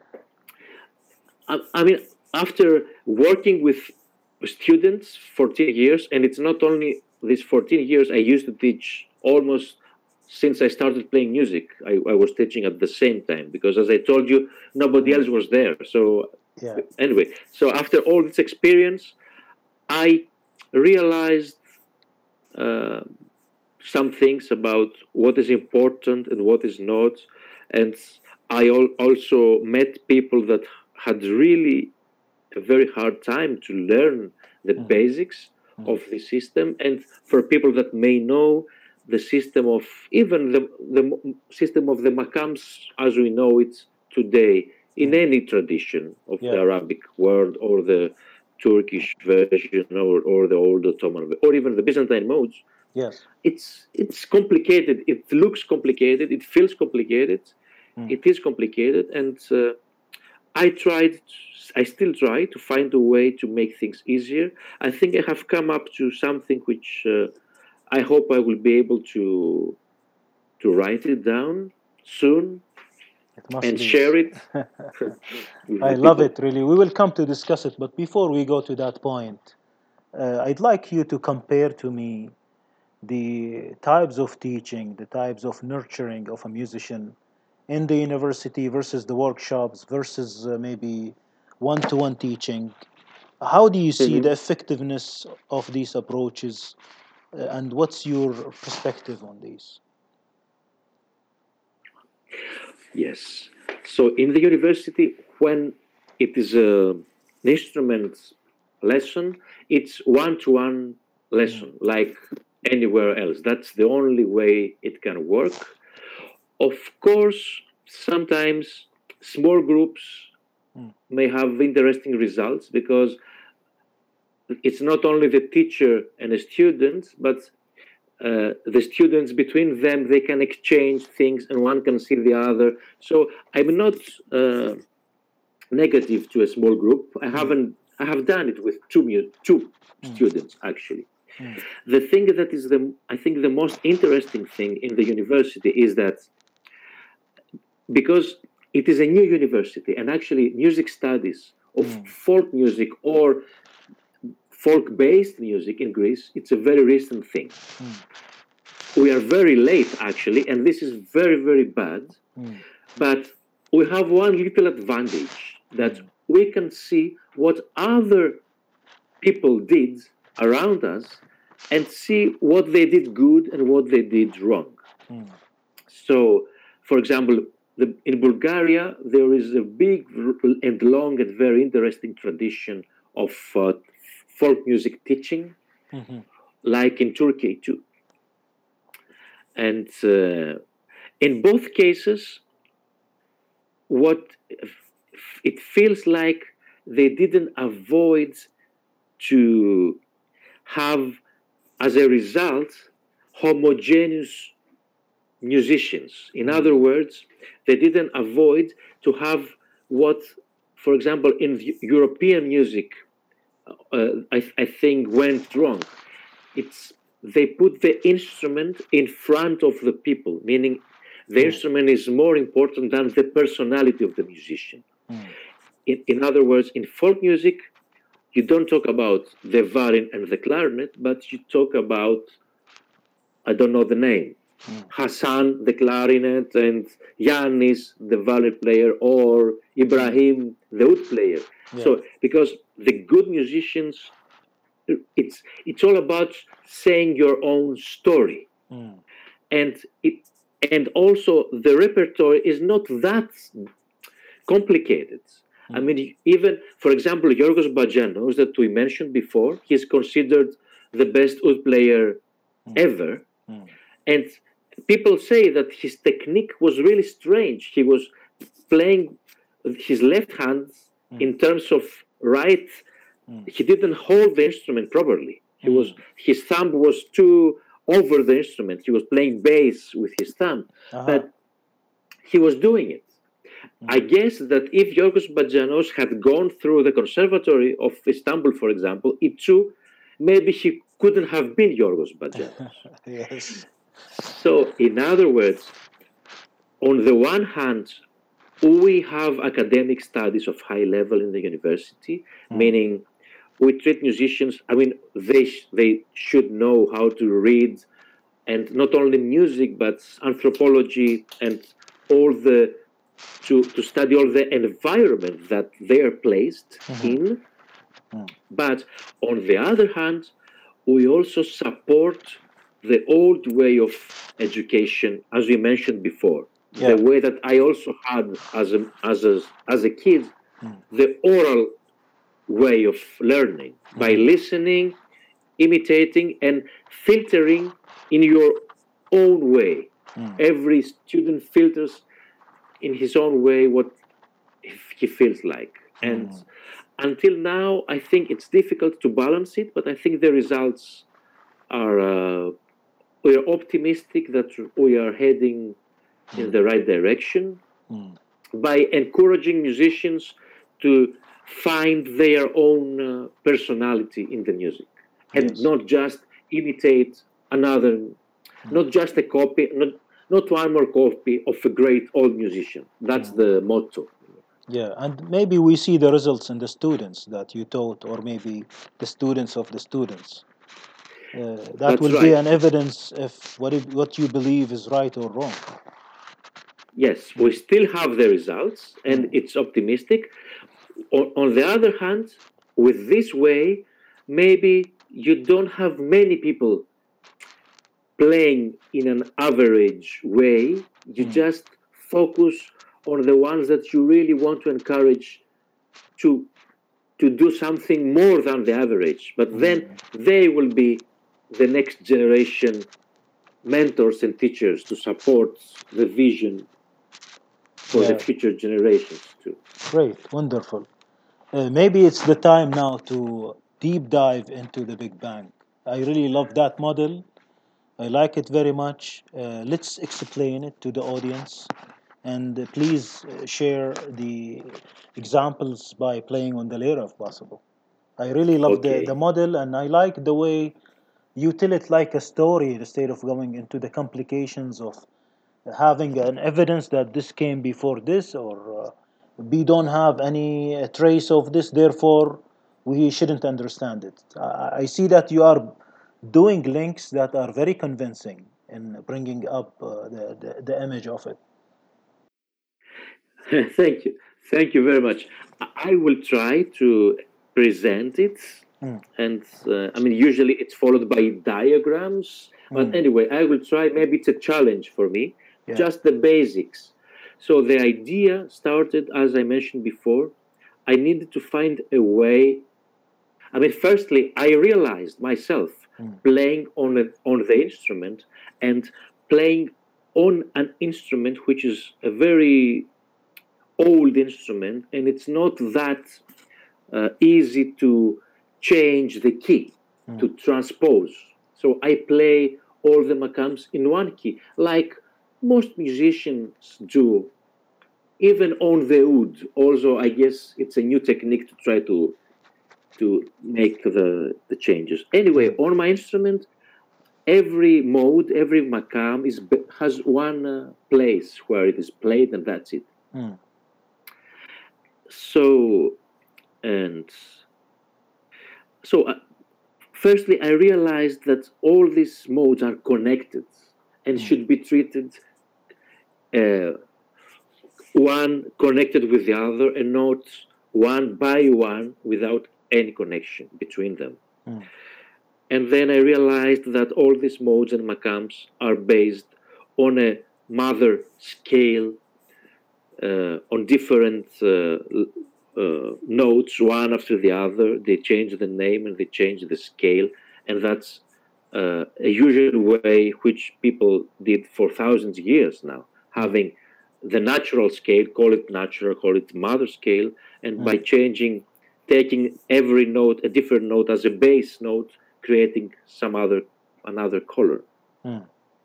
I, I mean, after working with students fourteen years, and it's not only these fourteen years, I used to teach almost since I started playing music. I, I was teaching at the same time because, as I told you, nobody Mm. else was there. So, Yeah. anyway, so after all this experience, I realized uh, some things about what is important and what is not. And I al- also met people that had really a very hard time to learn the Mm. basics Mm. of the system. And for people that may know the system of even the, the system of the makams as we know it today in Mm. any tradition of the Yeah. Arabic world, or the Turkish version, or, or the old Ottoman, or even the Byzantine modes, Yes. it's it's complicated. It looks complicated. It feels complicated. Mm. It is complicated, and uh, I tried. I still try to find a way to make things easier. I think I have come up to something which uh, I hope I will be able to to write it down soon It must and be. share it with I the love people. it, really. We will come to discuss it, but before we go to that point, uh, I'd like you to compare to me the types of teaching, the types of nurturing of a musician in the university versus the workshops versus uh, maybe one-to-one teaching. How do you see Mhm. the effectiveness of these approaches, uh, and what's your perspective on these? Yes. So in the university, when it is a, an instrument lesson, it's one-to-one lesson, Mm. like anywhere else. That's the only way it can work. Of course, sometimes small groups Mm. may have interesting results because it's not only the teacher and the student, but uh, the students between them, they can exchange things and one can see the other. So I'm not uh, negative to a small group. I haven't. I have done it with two two Mm. students actually. Mm. The thing that is the I think the most interesting thing in the university is that because it is a new university, and actually music studies of Mm. folk music or folk-based music in Greece, it's a very recent thing. Mm. We are very late actually, and this is very, very bad. Mm. But we have one little advantage that Mm. we can see what other people did around us, and see what they did good and what they did wrong. Mm. So, for example, the, in Bulgaria, there is a big and long and very interesting tradition of uh, folk music teaching, mm-hmm. like in Turkey too. And uh, in both cases, what it feels like they didn't avoid to have, as a result, homogeneous musicians. In other words, they didn't avoid to have what, for example, in European music, uh, I, I think went wrong. It's they put the instrument in front of the people, meaning the instrument is more important than the personality of the musician. Mm. In, in other words, in folk music, you don't talk about the violin and the clarinet, but you talk about, I don't know the name, mm. Hassan, the clarinet, and Yannis, the violin player, or Ibrahim, the oud player. Yeah. So, because the good musicians, it's it's all about saying your own story, mm. and it and also the repertoire is not that complicated. Mm. I mean, even for example, Yorgos Bagianos that we mentioned before, he's considered the best oud player mm. ever, mm. and people say that his technique was really strange. He was playing his left hand mm. in terms of right. He didn't hold the instrument properly. He mm. was his thumb was too over the instrument. He was playing bass with his thumb, uh-huh. but he was doing it. Mm. I guess that if Yorgos Bagianos had gone through the Conservatory of Istanbul, for example, it too, maybe he couldn't have been Yorgos Bagianos. Yes. So, in other words, on the one hand, we have academic studies of high level in the university, mm. meaning we treat musicians, I mean, they sh- they should know how to read, and not only music, but anthropology and all the, to, to study all the environment that they are placed mm-hmm. in. Mm. But on the other hand, we also support the old way of education, as we mentioned before, yeah. the way that I also had as a, as a, as a kid, mm. the oral way of learning mm-hmm. by listening, imitating, and filtering in your own way. Mm. Every student filters in his own way what he feels like. Mm. And until now, I think it's difficult to balance it, but I think the results are, uh, we are optimistic that we are heading mm. in the right direction mm. by encouraging musicians to find their own uh, personality in the music and yes. not just imitate another, mm. not just a copy, not, not one more copy of a great old musician. That's mm. the motto. Yeah, and maybe we see the results in the students that you taught, or maybe the students of the students. Uh, that That's will right. be an evidence if what, it, what you believe is right or wrong. Yes, we still have the results, and mm. it's optimistic. On, on the other hand, with this way, maybe you don't have many people playing in an average way. You mm. just focus on the ones that you really want to encourage to, to do something more than the average. But mm. then they will be the next generation mentors and teachers to support the vision for yeah. the future generations too. Great, wonderful. Uh, maybe it's the time now to deep dive into the Big Bang. I really love that model. I like it very much. Uh, let's explain it to the audience. And uh, please uh, share the examples by playing on the lyre if possible. I really love okay. the, the model, and I like the way you tell it like a story instead of going into the complications of having an evidence that this came before this, or uh, we don't have any uh, trace of this, therefore we shouldn't understand it. I, I see that you are doing links that are very convincing in bringing up uh, the, the, the image of it. Thank you. Thank you very much. I will try to present it Mm. And uh, I mean, usually it's followed by diagrams. But Mm. anyway, I will try. Maybe it's a challenge for me. Yeah. Just the basics. So the idea started, as I mentioned before. I needed to find a way. I mean, firstly, I realized myself Mm. playing on a, on the instrument and playing on an instrument which is a very old instrument, and it's not that uh, easy to change the key, Mm. to transpose. So I play all the makams in one key, like most musicians do, even on the oud. Also, I guess it's a new technique to try to to make the, the changes. Anyway, Mm. on my instrument, every mode, every makam is has one uh, place where it is played, and that's it. Mm. So, and so, uh, firstly, I realized that all these modes are connected and Mm. should be treated uh, one connected with the other, and not one by one without any connection between them. Mm. And then I realized that all these modes and makams are based on a mother scale, uh, on different uh, uh, notes, one after the other. They change the name and they change the scale, and that's uh, a usual way which people did for thousands of years now, having the natural scale, call it natural, call it mother scale, and by Mm. changing, taking every note, a different note as a base note, creating some other another color. Mm.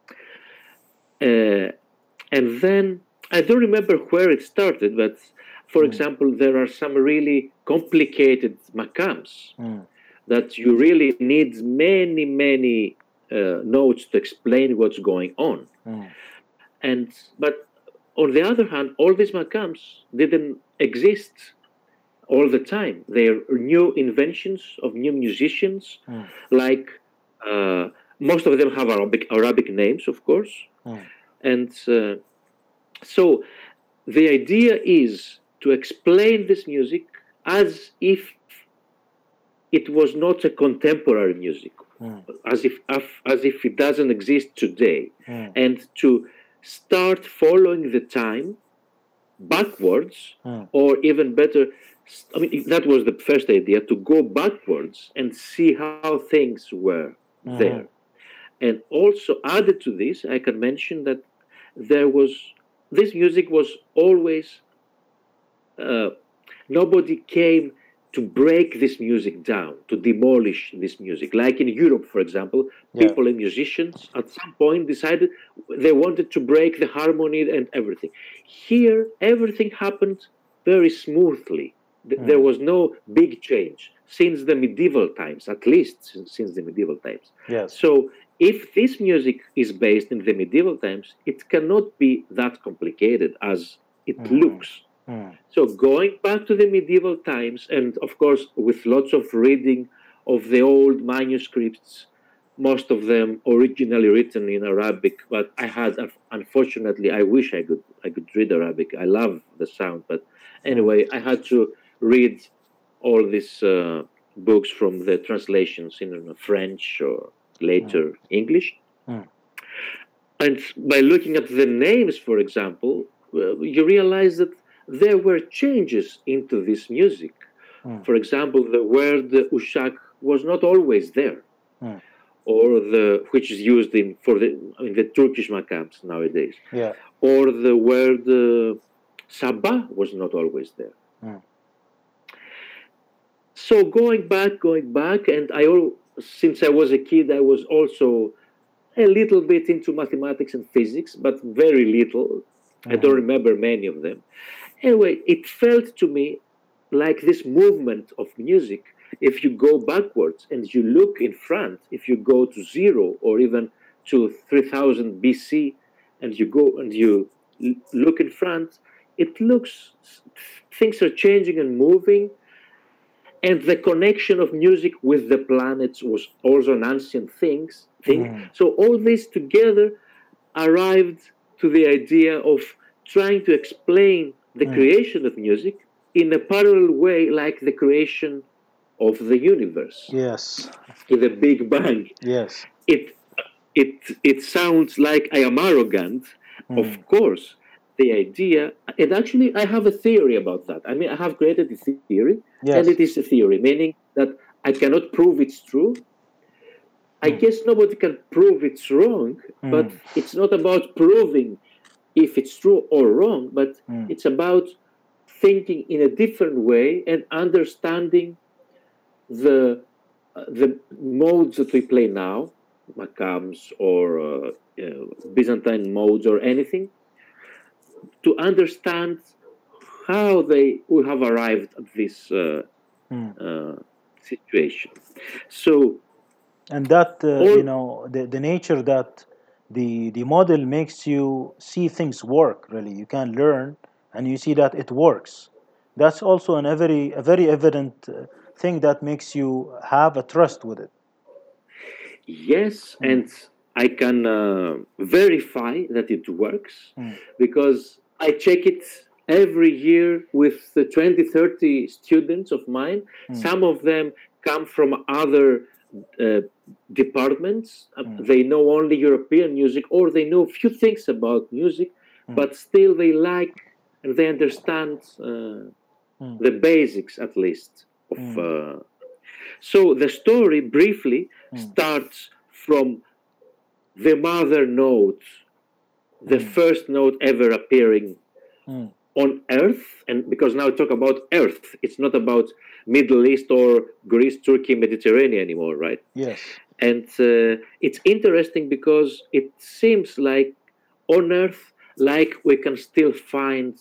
Uh, and then I don't remember where it started, but for Mm. example, there are some really complicated makams Mm. that you really need many, many uh, notes to explain what's going on. Mm. And but on the other hand, all these makams didn't exist all the time. They're new inventions of new musicians, Mm. like uh, most of them have Arabic Arabic names, of course. Mm. And uh, so the idea is to explain this music as if it was not a contemporary music, Mm. as if as if it doesn't exist today, Mm. and to start following the time backwards, Mm. or even better, I mean, that was the first idea, to go backwards and see how things were Mhm. there. And also added to this, I can mention that there was, this music was always, uh, nobody came to break this music down, to demolish this music. Like in Europe, for example, Yeah. people and musicians at some point decided they wanted to break the harmony and everything. Here, everything happened very smoothly. Th- There Mm. was no big change since the medieval times, at least since, since the medieval times. Yes. So, if this music is based in the medieval times, it cannot be that complicated as it Mhm. looks. Mm. So going back to the medieval times, and of course with lots of reading of the old manuscripts, most of them originally written in Arabic, but I had, unfortunately, I wish I could I could read Arabic. I love the sound, but anyway, I had to read all these uh, books from the translations in uh, French or later English. Mm. And by looking at the names, for example, uh, you realize that there were changes into this music. Mm. For example, the word ushak was not always there, Mm. or the which is used in for the in the Turkish makams nowadays, Yeah. or the word uh, sabah was not always there. Mm. So going back, going back, and I al- since I was a kid, I was also a little bit into mathematics and physics, but very little. I don't Mhm. remember many of them. Anyway, it felt to me like this movement of music. If you go backwards and you look in front, if you go to zero or even to three thousand B C, and you go and you l- look in front, it looks, things are changing and moving. And the connection of music with the planets was also an ancient things, thing. Mm. So all this together arrived to the idea of trying to explain the Mm. creation of music in a parallel way, like the creation of the universe. Yes. In the Big Bang. Yes. It it it sounds like I am arrogant. Mm. Of course, the idea, and actually I have a theory about that. I mean, I have created a theory, yes. and it is a theory, meaning that I cannot prove it's true. I mm. guess nobody can prove it's wrong, mm. but it's not about proving if it's true or wrong, but mm. it's about thinking in a different way and understanding the uh, the modes that we play now, Macams or uh, uh, Byzantine modes or anything, to understand how they we have arrived at this uh, mm. uh, situation. So, and that uh, all, you know the, the nature that the the model makes you see things work. Really, you can learn and you see that it works. That's also an a very a very evident uh, thing that makes you have a trust with it. Yes, mm. and I can uh, verify that it works mm. because I check it every year with the twenty, thirty students of mine. Mm. Some of them come from other uh, departments. Mm. They know only European music, or they know a few things about music, mm. but still they like and they understand uh, mm. the basics, at least, of... Mm. Uh, so the story, briefly, mm. starts from the mother note, the mm. first note ever appearing mm. on Earth, and because now I talk about Earth, it's not about Middle East or Greece, Turkey, Mediterranean anymore, right? Yes. And uh, it's interesting because it seems like on Earth, like we can still find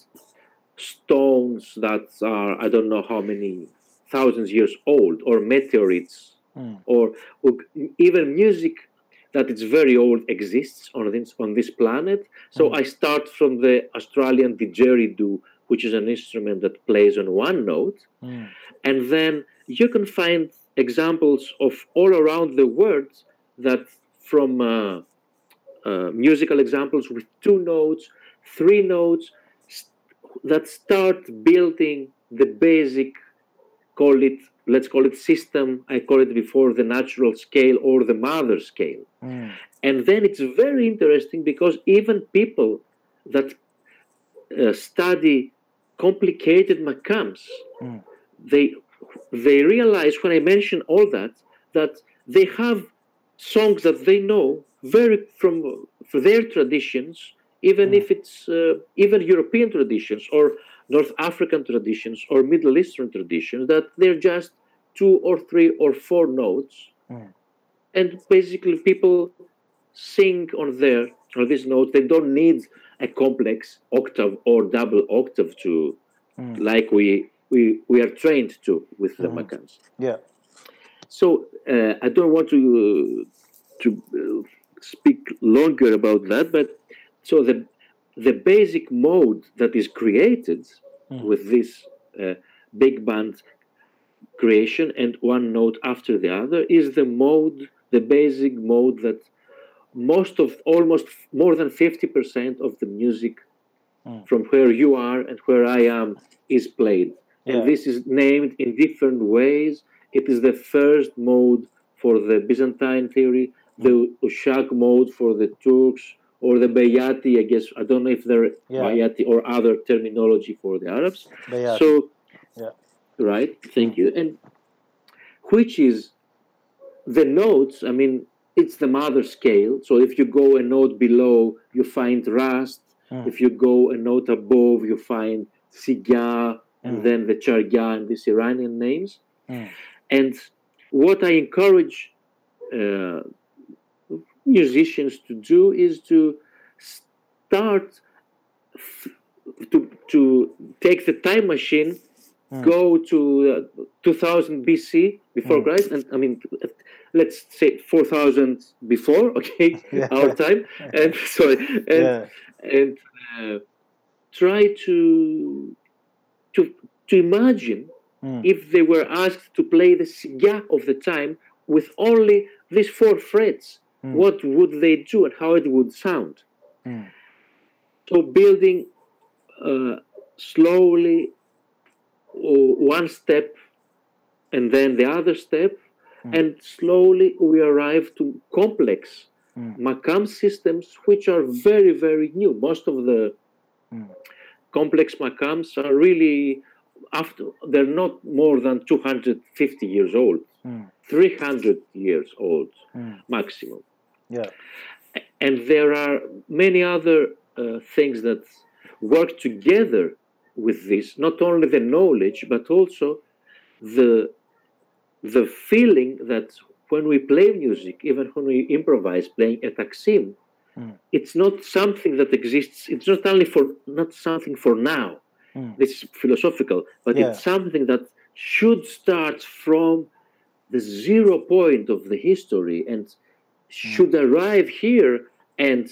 stones that are, I don't know how many thousands years old, or meteorites, mm. or, or even music that it's very old exists on this on this planet. So mm. I start from the Australian didgeridoo, which is an instrument that plays on one note, mm. and then you can find examples of all around the world that from uh, uh, musical examples with two notes, three notes, st- that start building the basic, call it, let's call it system. I call it before the natural scale or the mother scale. Mm. And then it's very interesting because even people that uh, study complicated Macams, mm. they they realize when I mention all that, that they have songs that they know very from, from their traditions, even mm. if it's uh, even European traditions or North African traditions or Middle Eastern traditions, that they're just two or three or four notes. Mm. And basically people sing on their on these notes. They don't need a complex octave or double octave to mm. like we we we are trained to with the mm. Macams. Yeah. So uh, I don't want to uh, to uh, speak longer about that, but so the the basic mode that is created mm. with this uh, big band creation and one note after the other is the mode, the basic mode that most of, almost more than fifty percent of the music mm. from where you are and where I am is played. Yeah. And this is named in different ways. It is the first mode for the Byzantine theory, mm. the Ushak mode for the Turks, or the Bayati, I guess, I don't know if they're yeah. Bayati or other terminology for the Arabs. Bayati. So, yeah. right, thank mm. you. And which is the notes, I mean, it's the mother scale. So if you go a note below, you find Rast. Mm. If you go a note above, you find Sigya, and mm. then the Charya and these Iranian names. Mm. And what I encourage uh, musicians to do is to start f- to to take the time machine, mm. go to uh, two thousand B C before mm. Christ, and I mean, let's say four thousand before, okay, yeah. our time, and sorry, and yeah. and uh, try to to to imagine mm. if they were asked to play the sigya of the time with only these four frets, mm. what would they do and how it would sound? Mm. So building uh, slowly, uh, one step and then the other step, Mm. and slowly we arrive to complex Mm. Makam systems, which are very, very new. Most of the Mm. complex Makams are really after they're not more than two hundred fifty years old, Mm. three hundred years old Mm. maximum. Yeah. And there are many other uh, things that work together with this, not only the knowledge, but also the the feeling that when we play music, even when we improvise playing a taksim, Mm. it's not something that exists. It's not only for not something for now. Mm. This is philosophical, but Yeah. it's something that should start from the zero point of the history and should arrive here, and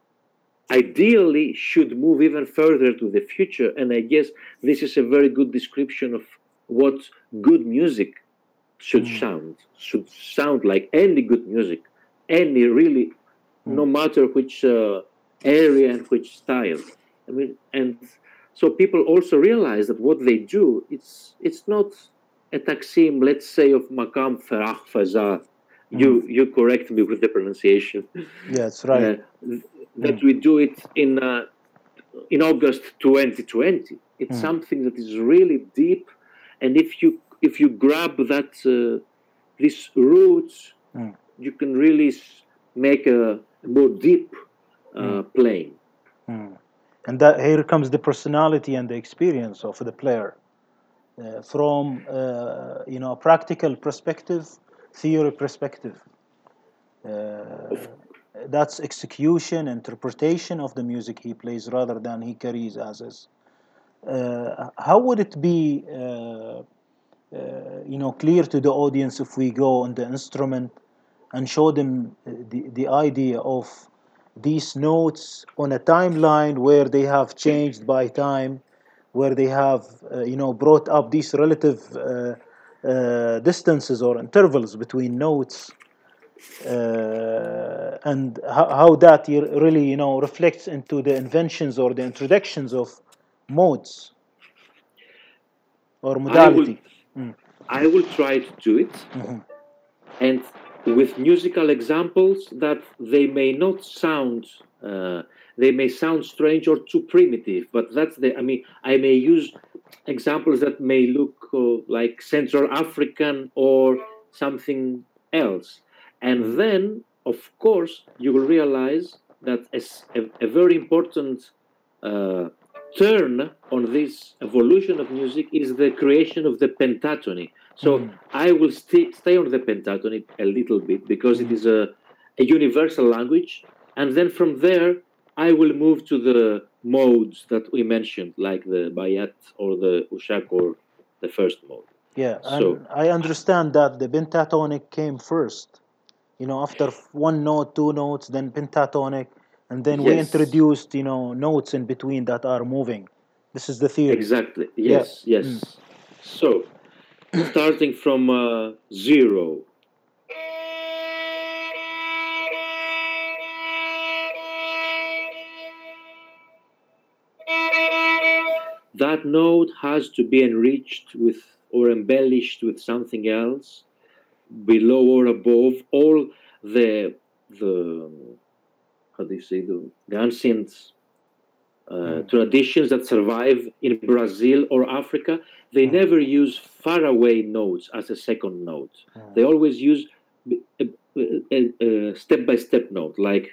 ideally should move even further to the future. And I guess this is a very good description of what good music should Mm. sound, should sound like. Any good music, any really, Mm. no matter which uh, area and which style. I mean, and so people also realize that what they do, it's it's not a taksim, let's say, of Makam Farah Faza. You Mm. you correct me with the pronunciation. Yeah, that's right. Uh, that Mm. we do it in uh, in August twenty twenty. It's Mm. something that is really deep, and if you if you grab that uh, these roots, Mm. you can really s- make a more deep uh, Mm. playing. Mm. And that here comes the personality and the experience of the player. Uh, from uh, you know a practical perspective, theory perspective. Uh, Of that's execution, interpretation of the music he plays rather than he carries as is. Uh, how would it be, uh, uh, you know, clear to the audience if we go on the instrument and show them the, the idea of these notes on a timeline where they have changed by time, where they have, uh, you know, brought up these relative uh, uh, distances or intervals between notes, uh, and how, how that really, you know, reflects into the inventions or the introductions of modes or I will modality. Mm. I will try to do it, Mm-hmm. and with musical examples that they may not sound uh, they may sound strange or too primitive, but that's the I mean I may use examples that may look uh, like Central African or something else, and Mm. then of course you will realize that as a, a very important uh, turn on this evolution of music is the creation of the pentatony. So Mm. I will stay stay on the pentatonic a little bit because it Mm. is a, a universal language, and then from there I will move to the modes that we mentioned, like the bayat or the ushak or the first mode. Yeah, So and I understand that the pentatonic came first. You know, after one note, two notes, then pentatonic, and then we yes, introduced, you know, notes in between that are moving. This is the theory. exactly, Yeah. yes, yes. Mm. So starting from uh, zero. That note has to be enriched with or embellished with something else below or above all the the how do you say the, the ancient uh, Mm. traditions that survive in Brazil or Africa. They Mm. never use faraway notes as a second note. Mm. They always use a, a, a step-by-step note, like.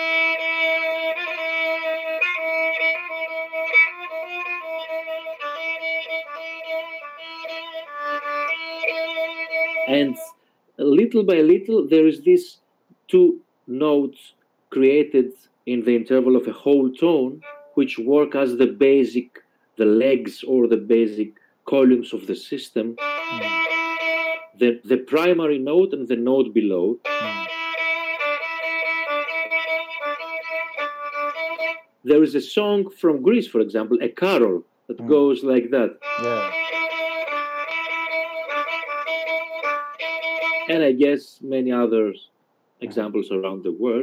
And little by little, there is this two notes created in the interval of a whole tone, which work as the basic, the legs or the basic columns of the system. Mm. The, the primary note and the note below. Mm. There is a song from Greece, for example, a carol that Mm. goes like that. Yeah. And I guess many other examples around the world.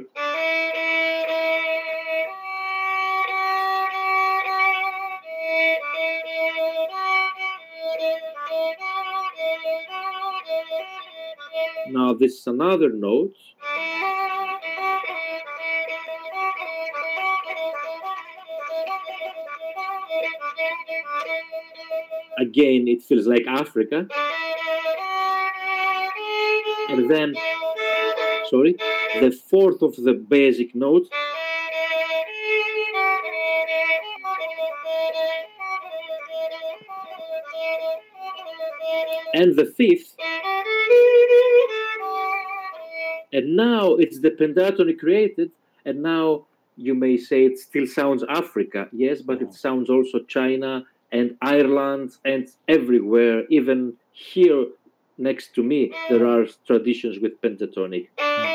Now this is another note. Again, it feels like Africa. And then, sorry, the fourth of the basic note. And the fifth. And now it's the pentatonic created, and now you may say it still sounds Africa, yes, but it sounds also China and Ireland and everywhere, even here next to me, there are traditions with pentatonic.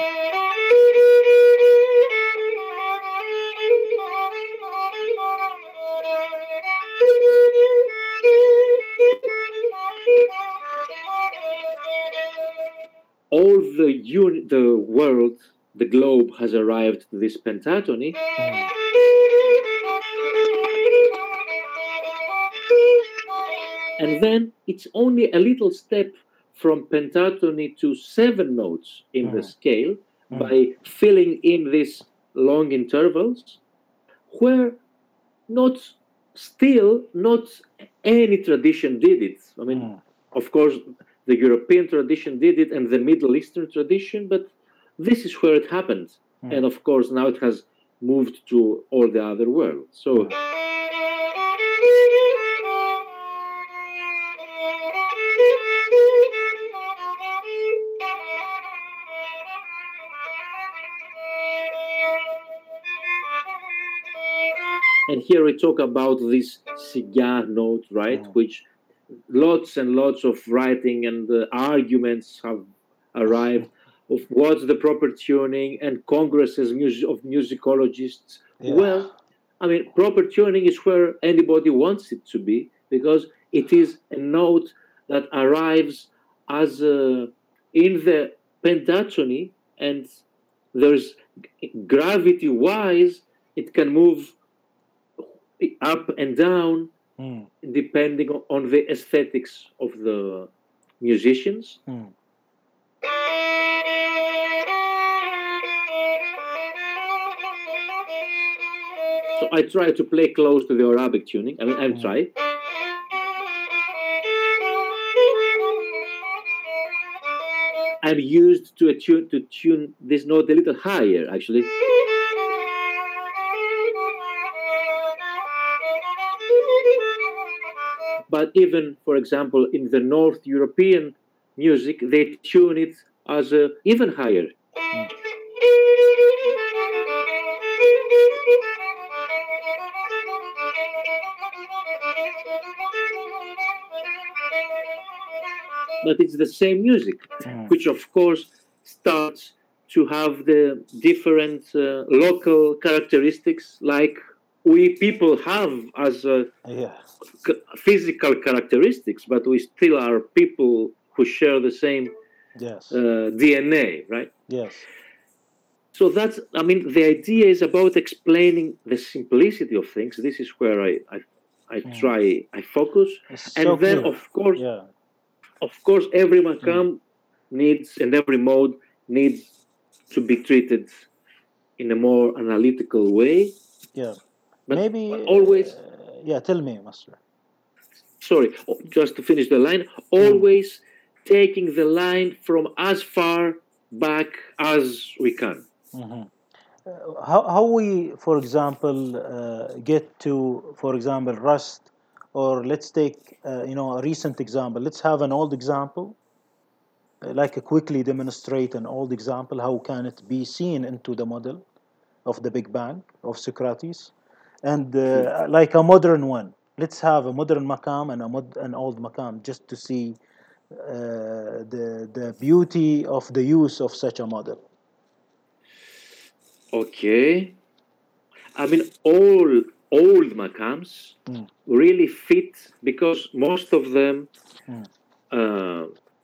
All the uni- the world, the globe has arrived to this pentatony. Mm. And then it's only a little step from pentatony to seven notes in mm. the scale mm. by filling in these long intervals, where not still not any tradition did it. I mean, mm. of course, the European tradition did it and the Middle Eastern tradition, but this is where it happened. Mm. And of course, now it has moved to all the other world. So. Mm. And here we talk about this cigar note, right, mm. which lots and lots of writing and uh, arguments have arrived of what's the proper tuning and congresses mus- of musicologists. Yeah. Well, I mean, proper tuning is where anybody wants it to be, because it is a note that arrives as uh, in the pentatony, and there's gravity-wise, it can move up and down mm. depending on the aesthetics of the musicians. Mm. So I try to play close to the Arabic tuning. I mean, I'm mm. trying. I'm used to a tune to tune this note a little higher, actually. But even, for example, in the North European music, they tune it as a, even higher. Mm. But it's the same music, mm. which of course starts to have the different uh, local characteristics like we people have as uh, yeah. c- physical characteristics, but we still are people who share the same yes. uh, D N A, right? Yes. So that's, I mean, the idea is about explaining the simplicity of things. This is where I I, I mm. try, I focus. It's and so then, clear. of course, yeah. of course, every makam mm. needs, and every mode needs to be treated in a more analytical way. Yeah. But Maybe always. Uh, yeah, tell me, Master. Sorry, just to finish the line. Always mm. taking the line from as far back as we can. Mm-hmm. Uh, how how we, for example, uh, get to, for example, Rust, or let's take uh, you know a recent example. Let's have an old example, uh, like a quickly demonstrate an old example. How can it be seen into the model of the Big Bang of Socrates, and uh, like a modern one. Let's have a modern maqam and a mod- an old maqam, just to see uh, the the beauty of the use of such a model. Okay. I mean, all old maqams mm. really fit, because most of them mm. uh,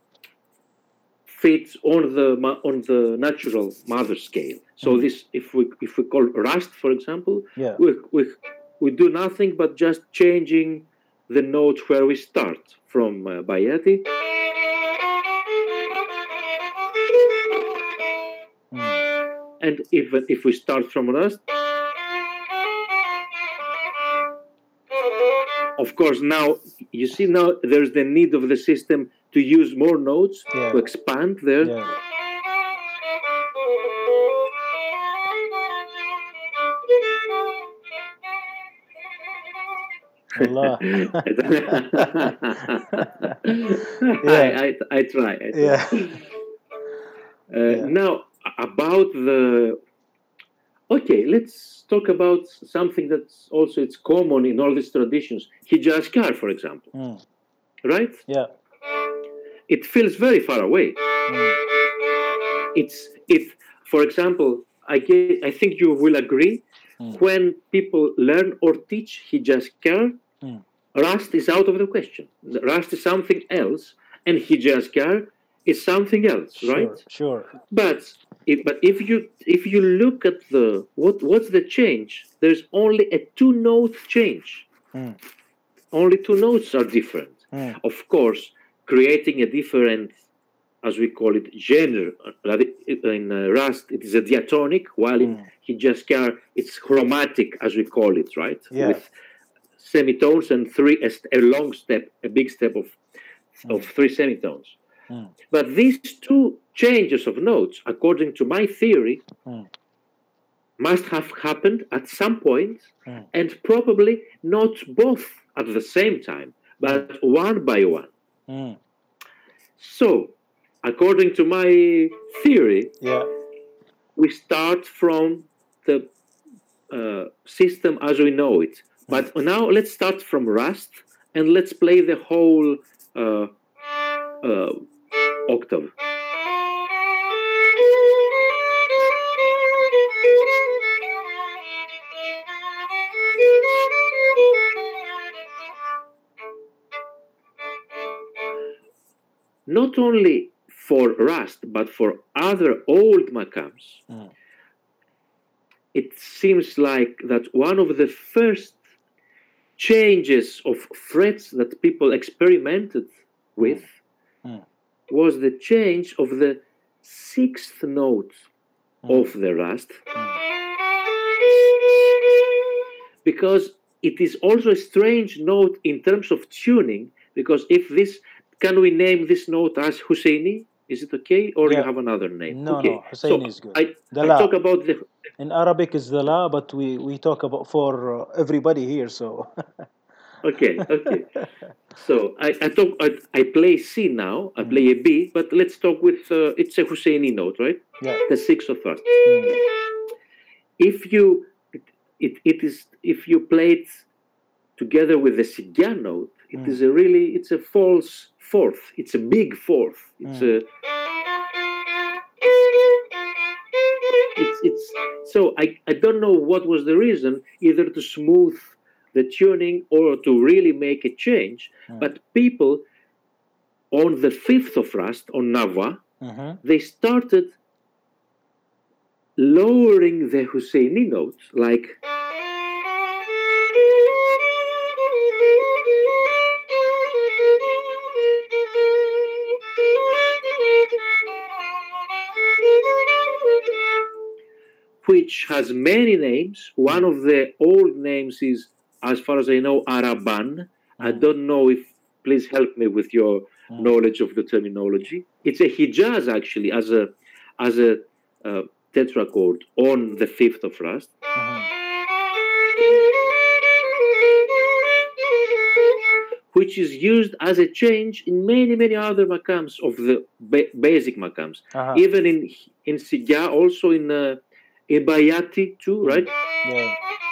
fit on the on the natural mother scale. So mm. this, if we if we call Rust, for example, yeah. we, we we do nothing but just changing the note where we start from uh, Bayati. and even if we start from Rust, of course, now you see now there's the need of the system to use more notes Yeah. to expand there. Yeah. Allah. I, I, I try. I try. Yeah. Uh, Yeah. Now, about the... Okay, let's talk about something that's also it's common in all these traditions. Hijaz Kar, for example. Mm. Right? Yeah. It feels very far away. Mm. It's if, for example, I get, I think you will agree, Mm. when people learn or teach Hijaz Kar, Mm. Rust is out of the question. Rust is something else, and Hijaz Kar is something else, Sure. right? Sure. But if, but if you if you look at the what what's the change? There's only a two note change. Mm. Only two notes are different. Mm. Of course, creating a different, as we call it, genre. In uh, Rust, it is a diatonic, while in Mm. Hijaz Kar, it's chromatic, as we call it, right? Yeah. With semitones and three a, st- a long step, a big step of of three semitones. Mm. But these two changes of notes, according to my theory, Mm. must have happened at some point, Mm. and probably not both at the same time, but one by one. Mm. So, according to my theory, Yeah. we start from the uh, system as we know it. But now let's start from Rust, and let's play the whole uh, uh, octave. Not only for Rust, but for other old makams, Mm. it seems like that one of the first changes of frets that people experimented with Mm. was the change of the sixth note Mm. of the Rust, Mm. because it is also a strange note in terms of tuning, because if this, can we name this note as Husseini? Is it okay? Or Yeah. you have another name? No, okay. no, Husseini so is good. I, The I La. talk about the... In Arabic is the La, but we, we talk about for uh, everybody here, so. Okay, okay. So I, I talk. I, I play C now. I Mm. play a B, but let's talk with. Uh, it's a Husseini note, right? Yeah. The sixth of Rust. Mm. If you, it, it, it is if you play it together with the Sigya note, it Mm. is a really. It's a false fourth. It's a big fourth. It's Mm. a. It's it's. So I I don't know what was the reason, either to smooth the tuning or to really make a change. Mm. But people on the fifth of Rust, on Nava, Mm-hmm. they started lowering the Husseini notes, like... which has many names. One of the old names is, as far as I know, Araban. I Mm. don't know if, please help me with your Mm. knowledge of the terminology. It's a Hijaz, actually, as a as a uh, tetrachord on the fifth of Rust. Mhm. Which is used as a change in many, many other makams of the ba- basic makams. Uh-huh. Even in in Sigya, also in uh, in Bayati too, right? Yeah.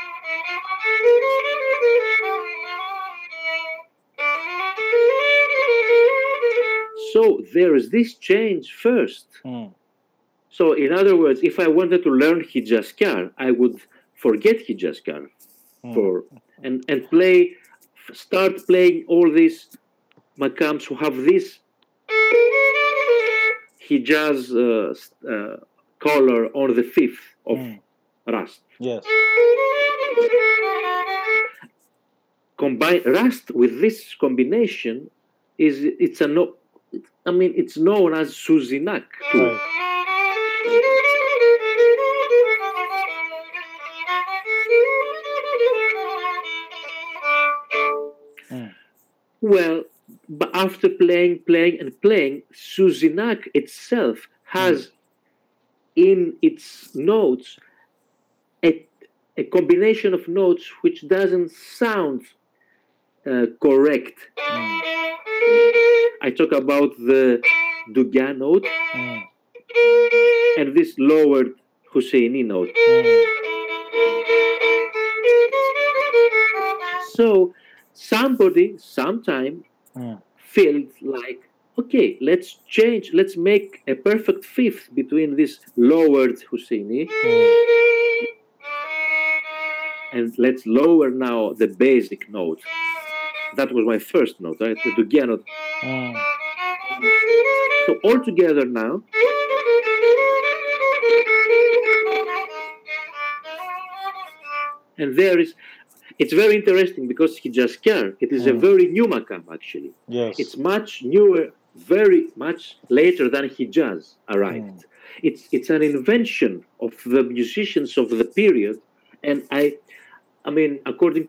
So there is this change first. Mm. So in other words, if I wanted to learn Hijaz Kar, I would forget Hijaz Kar Mm. for and and play, start playing all these makams who have this Hijaz uh, uh, color on the fifth of Mm. Rust. Yes. Combine Rust with this combination is it's a no. I mean, it's known as Suzinak too. Right. Well, but after playing, playing, and playing, Suzinak itself has mm. in its notes a, a combination of notes which doesn't sound uh, correct. Mm. I talk about the Dugan note mm. and this lowered Husseini note. Mm. So somebody, sometime, mm. felt like, okay, let's change, let's make a perfect fifth between this lowered Husseini mm. and let's lower now the basic note. That was my first note, right? The Dugan note. Mm. So all together now, and there is, it's very interesting because Hijazkar, it is mm. a very new makam actually. Yes. It's much newer, very much later than Hijaz arrived. Mm. It's it's an invention of the musicians of the period, and I, I mean, according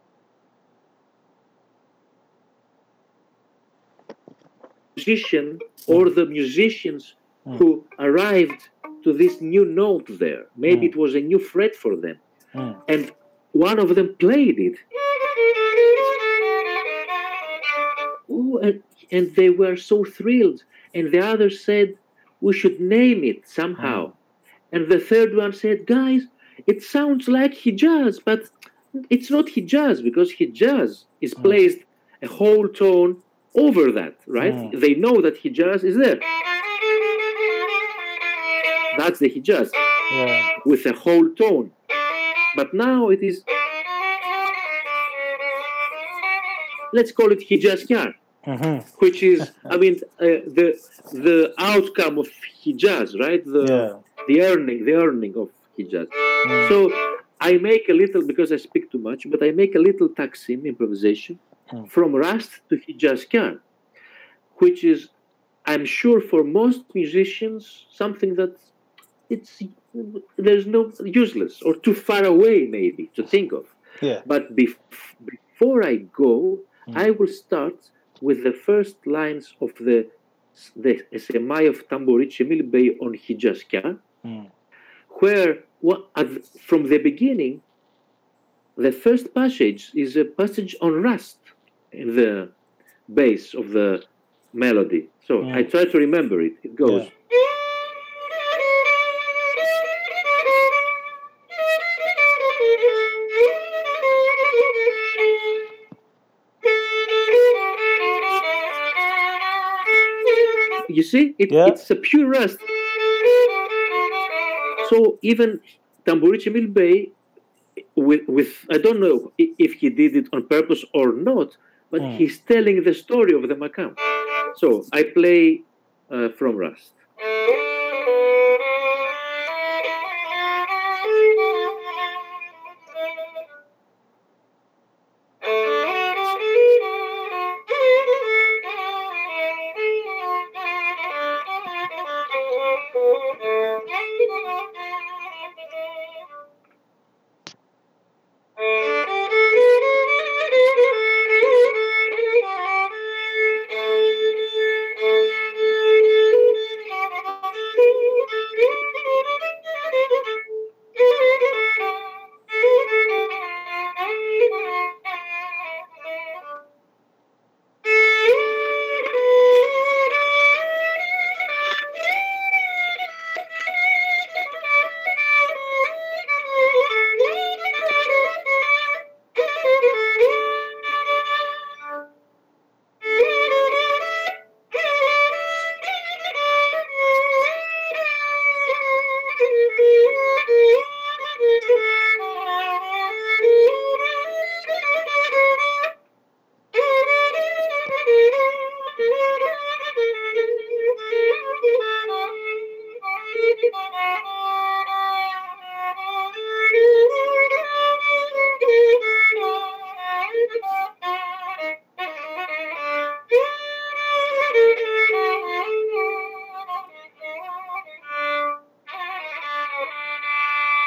musician or the musicians mm. who arrived to this new note there. Maybe mm. it was a new fret for them. Mm. And one of them played it. Ooh, and, and they were so thrilled. And the other said, we should name it somehow. Mm. And the third one said, guys, it sounds like Hijaz, but it's not Hijaz because Hijaz is mm. placed a whole tone over that, right? Mm. They know that Hijaz is there. That's the Hijaz yeah. with a whole tone. But now it is, let's call it Hijazkar, mm-hmm. which is, I mean, uh, the the outcome of Hijaz, right? The yeah. the earning, the earning of Hijaz. Mm. So I make a little, because I speak too much, but I make a little taksim improvisation mm. from Rast to Hijazkar, which is, I'm sure for most musicians, something that it's there's no useless or too far away maybe to think of. Yeah. But bef- before I go, mm. I will start with the first lines of the the Semai of Tamburi Cemil Bey on Hijazkar, mm. where what, at, from the beginning, the first passage is a passage on Rast in the base of the melody. So mm. I try to remember it. It goes. Yeah. You see, it, yeah. it's a pure Rast. So even Tamburi Cemil Bey, with, with, I don't know if he did it on purpose or not, but mm. he's telling the story of the makam. So I play uh, from Rast.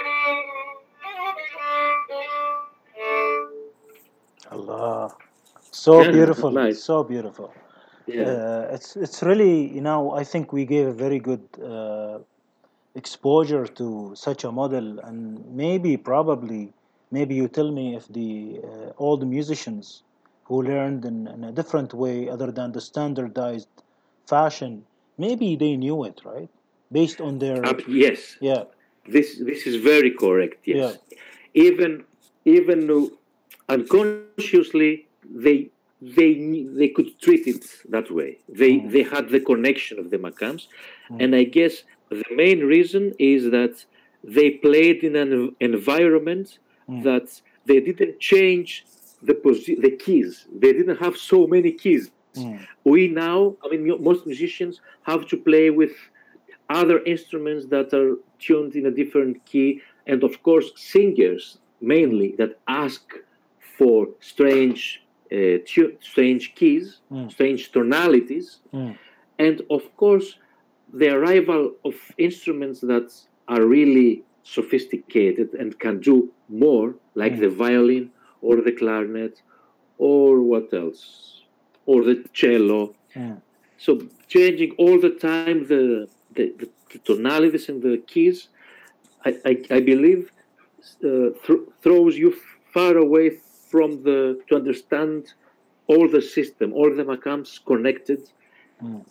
Allah. So Yeah, beautiful, nice. so beautiful. Yeah. Uh, it's it's really, you know, I think we gave a very good uh, exposure to such a model, and maybe probably maybe you tell me if the uh, all the musicians who learned in, in a different way other than the standardized fashion, maybe they knew it, right, based on their, Up, yes. yeah, This this is very correct. yeah, Yes. Even even though unconsciously they they they could treat it that way. They mm, they had the connection of the Makams, mm, and I guess the main reason is that they played in an environment mm, that they didn't change the posi- the keys. They didn't have so many keys. mm, We now, I mean, most musicians have to play with other instruments that are tuned in a different key, and of course, singers mm, mainly that ask for strange, uh, tu- strange keys, mm, strange tonalities, mm, and of course, the arrival of instruments that are really sophisticated and can do more, like mm, the violin or the clarinet, or what else, or the cello. mm, So changing all the time the the, the, the tonalities and the keys, I, I, I believe, uh, th- throws you far away from the to understand all the system, all the makams connected mm,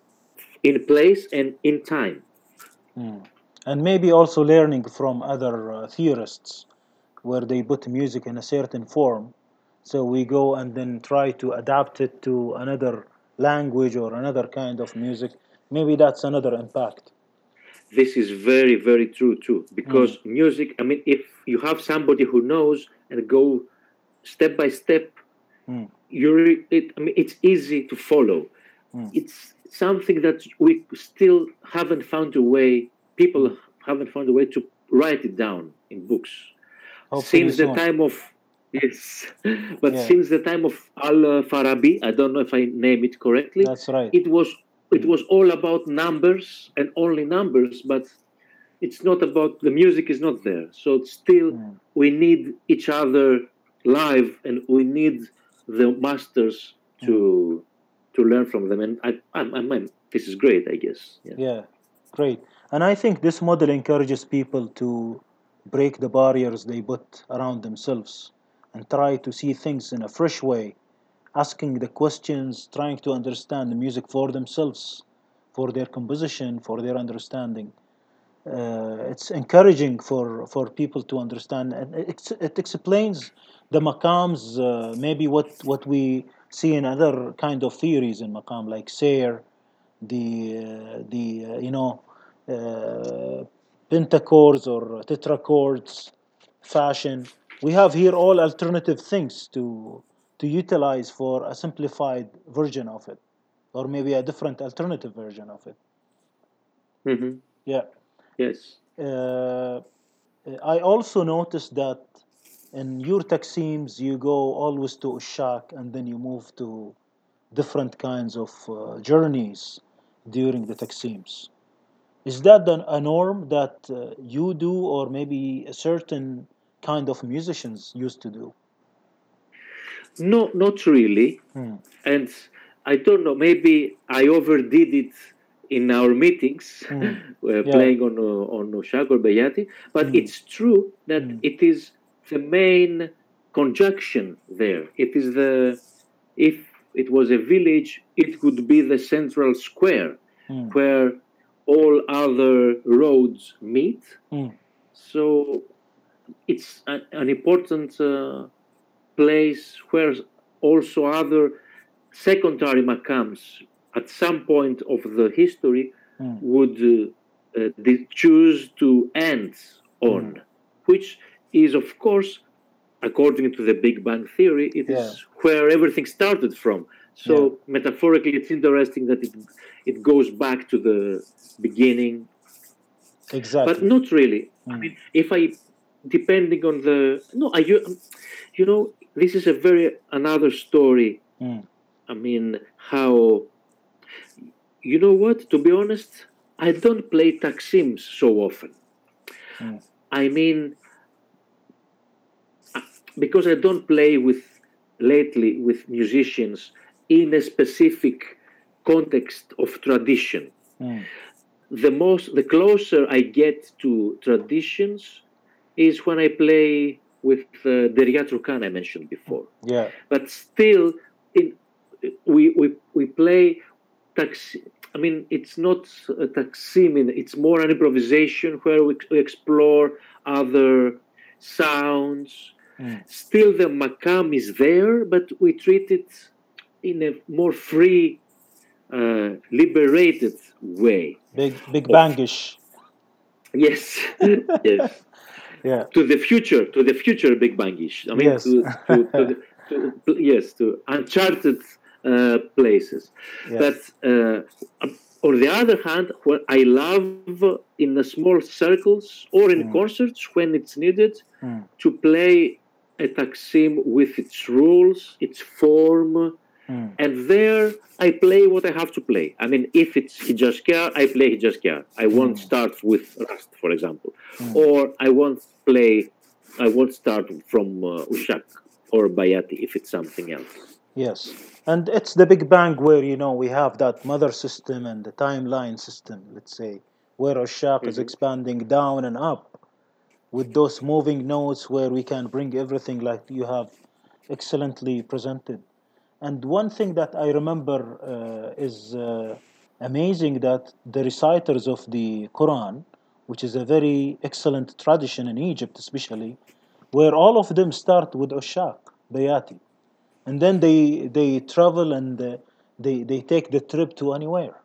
in place and in time. mm. And maybe also learning from other uh, theorists where they put music in a certain form. So we go and then try to adapt it to another language or another kind of music. Maybe that's another impact. This is very, very true too, Mm, because music, I mean, if you have somebody who knows and go step by step, mm, you're, it, I mean, it's easy to follow. mm, It's something that we still haven't found a way, mm. people haven't found a way to write it down in books. Hopefully Since the soon. time of, yes, but Yeah, since the time of Al-Farabi, I don't know if I name it correctly, that's right. it was it Mm, was all about numbers and only numbers, but it's not about, the music is not there. So still mm, we need each other live, and we need the masters mm. to to learn from them. And I, I, I mean, this is great, I guess. Yeah. Yeah, great. And I think this model encourages people to break the barriers they put around themselves and try to see things in a fresh way, asking the questions, trying to understand the music for themselves, for their composition, for their understanding. Uh, it's encouraging for, for people to understand, and it, it explains the maqams, uh, maybe what, what we see in other kind of theories in maqam, like Sayr, the uh, the uh, you know uh, pentachords or tetrachords fashion. We have here all alternative things to to utilize for a simplified version of it, or maybe a different alternative version of it. Hmm. Yeah. Yes. Uh, I also noticed that in your Takseems you go always to Ushak and then you move to different kinds of uh, journeys during the Takseems. Is that an, a norm that uh, you do, or maybe a certain kind of musicians used to do? No, not really. Hmm. And I don't know, maybe I overdid it in our meetings, Hmm. uh, Yeah. playing on uh, on Oshak or Bayati, but Hmm. it's true that Hmm. it is the main conjunction there. It is the, if it was a village, it would be the central square Hmm. where all other roads meet. Hmm. So it's a, an important uh, place where also other secondary makams at some point of the history Hmm. would uh, uh, de- choose to end Hmm. on, which is, of course, according to the Big Bang Theory, it Yeah. is where everything started from. Yeah. So metaphorically, it's interesting that it it goes back to the beginning, but Exactly. not really. I Hmm. mean, if I, depending on the, no, I, you you know, this is a very another story. Hmm. I mean, how, you know what? To be honest, I don't play Taksims so often. Hmm. I mean, because I don't play with lately with musicians in a specific context of tradition. Mm. The most, the closer I get to traditions is when I play with uh, Derya Turkan I mentioned before. Yeah. But still, in we we we play taxi. I mean, it's not a taksim. It's more an improvisation where we, we explore other sounds. Mm. Still, the makam is there, but we treat it in a more free, uh, liberated way. Big big Of- bangish. Yes, yes. Yeah. To the future, to the future, Big Bangish. I mean, Yes. to, to, to, the, to yes, to uncharted uh, places. Yeah. But uh, on the other hand, what I love in the small circles or in Mm. concerts when it's needed Mm. to play a taksim with its rules, its form, Mm. and there I play what I have to play. I mean, if it's Hijaskar, I play Hijaskar. I won't Mm. start with Rast, for example. Mm. Or I won't play, I won't start from uh, Ushak or Bayati if it's something else. Yes. And it's the Big Bang where, you know, we have that mother system and the timeline system, let's say, where Oshak is Mhm. expanding down and up with those moving notes where we can bring everything like you have excellently presented. And one thing that I remember uh, is uh, amazing that the reciters of the Quran, which is a very excellent tradition in Egypt, especially, where all of them start with Oshak, Bayati, and then they they travel and uh, they they take the trip to anywhere.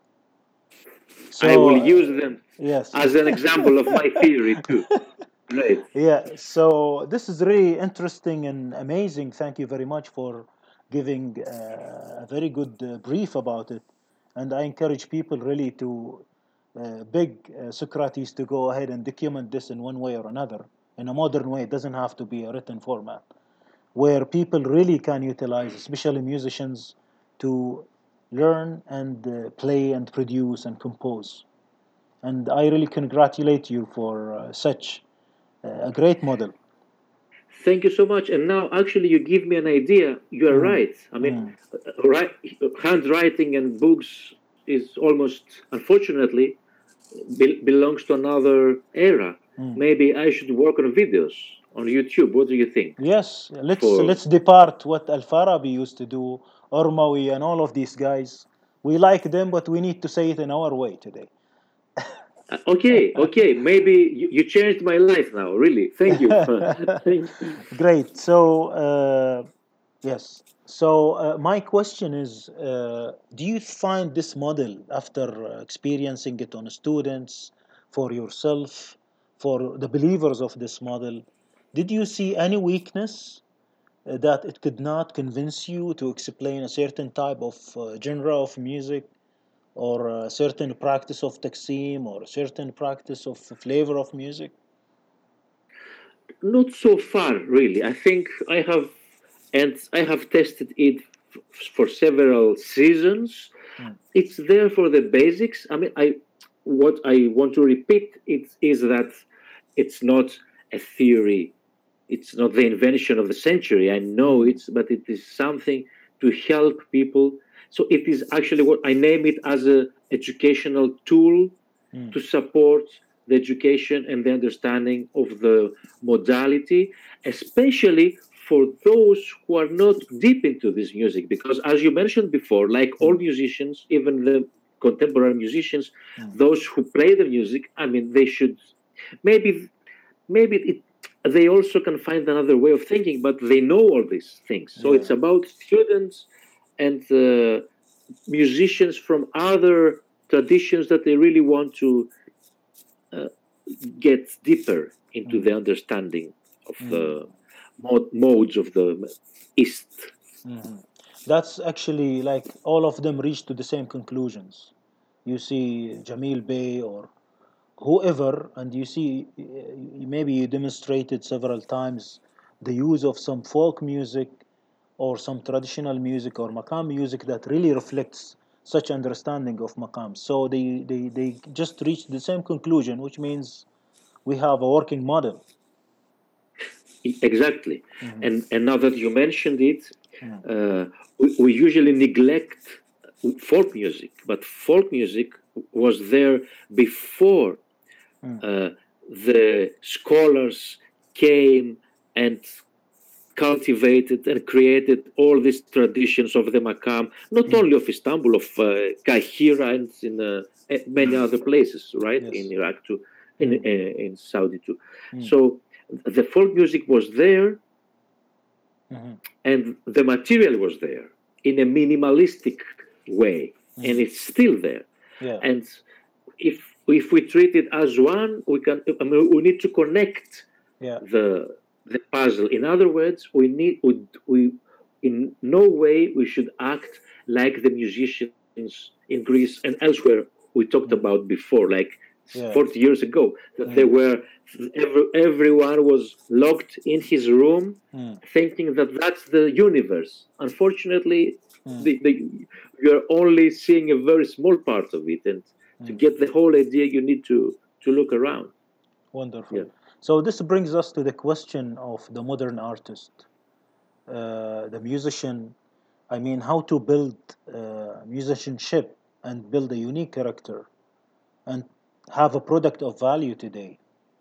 So I will uh, use them yes, as an example of my theory too. Great. yeah. So this is really interesting and amazing. Thank you very much for giving uh, a very good uh, brief about it. And I encourage people really to uh, beg uh, Socrates to go ahead and document this in one way or another in a modern way. It doesn't have to be a written format, where people really can utilize, especially musicians, to learn and uh, play and produce and compose. And I really congratulate you for uh, such uh, a great model. Thank you so much. And now, actually, you give me an idea. You are Mm, right. I mean, mm, uh, right, handwriting and books is almost, unfortunately, be- belongs to another era. mm. Maybe I should work on videos on YouTube. What do you think? Yes, let's For let's depart what Al Farabi used to do, Ormawi and all of these guys. We like them, but we need to say it in our way today. uh, okay, okay, maybe you, you changed my life now. Really, thank you. Thank you. Great. So, uh, yes. So, uh, my question is uh, do you find this model, after uh, experiencing it on students, for yourself, for the believers of this model, did you see any weakness uh, that it could not convince you to explain a certain type of uh, genre of music, or a certain practice of taksim, or a certain practice of flavor of music? Not so far, really. I think I have, and I have tested it f- for several seasons. Mm. It's there for the basics. I mean, I what I want to repeat it is that it's not a theory. It's not the invention of the century. I know Mm. it's, but it is something to help people. So it is actually what I name it as a educational tool Mm. to support the education and the understanding of the modality, especially for those who are not deep into this music. Because, as you mentioned before, like all musicians, even the contemporary musicians, Mm. those who play the music, I mean, they should maybe, maybe it, they also can find another way of thinking, but they know all these things. So Yeah. it's about students and uh, musicians from other traditions that they really want to uh, get deeper into Mm. the understanding of Mm. the mod- modes of the East. Mhm. That's actually like all of them reach to the same conclusions. You see Jamil Bey or whoever, and you see uh, maybe you demonstrated several times the use of some folk music or some traditional music or maqam music that really reflects such understanding of maqam. So they, they, they just reach the same conclusion, which means we have a working model. Exactly. Mhm. And, and now that you mentioned it, Uh, we, we usually neglect folk music, but folk music was there before uh, the scholars came and cultivated and created all these traditions of the makam, not mm. only of Istanbul, of uh, Kahira and in uh, many other places, right? Yes. In Iraq too, in, mm. uh, in Saudi too. Mm. So the folk music was there, mm-hmm. and the material was there in a minimalistic way, mm. and it's still there. Yeah. And if if we treat it as one, we can. I mean, we need to connect yeah. the the puzzle. In other words, we need we, we in no way we should act like the musicians in Greece and elsewhere we talked mm. about before, like yeah. forty years ago, that mm. they were every, everyone was locked in his room, mm. thinking that that's the universe. Unfortunately, mm. the, the, you're only seeing a very small part of it, and mm. to get the whole idea, you need to to look around. Wonderful. Yeah. So this brings us to the question of the modern artist, uh, the musician. I mean, how to build uh, musicianship and build a unique character and have a product of value today.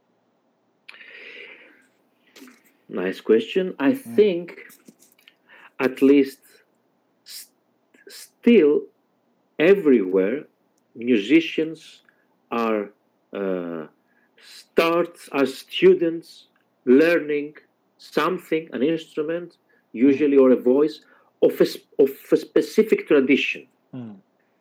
Nice question. I mm. think at least st- still everywhere musicians are uh, start as students learning something, an instrument, usually, or a voice, of a, of a specific tradition. Mm.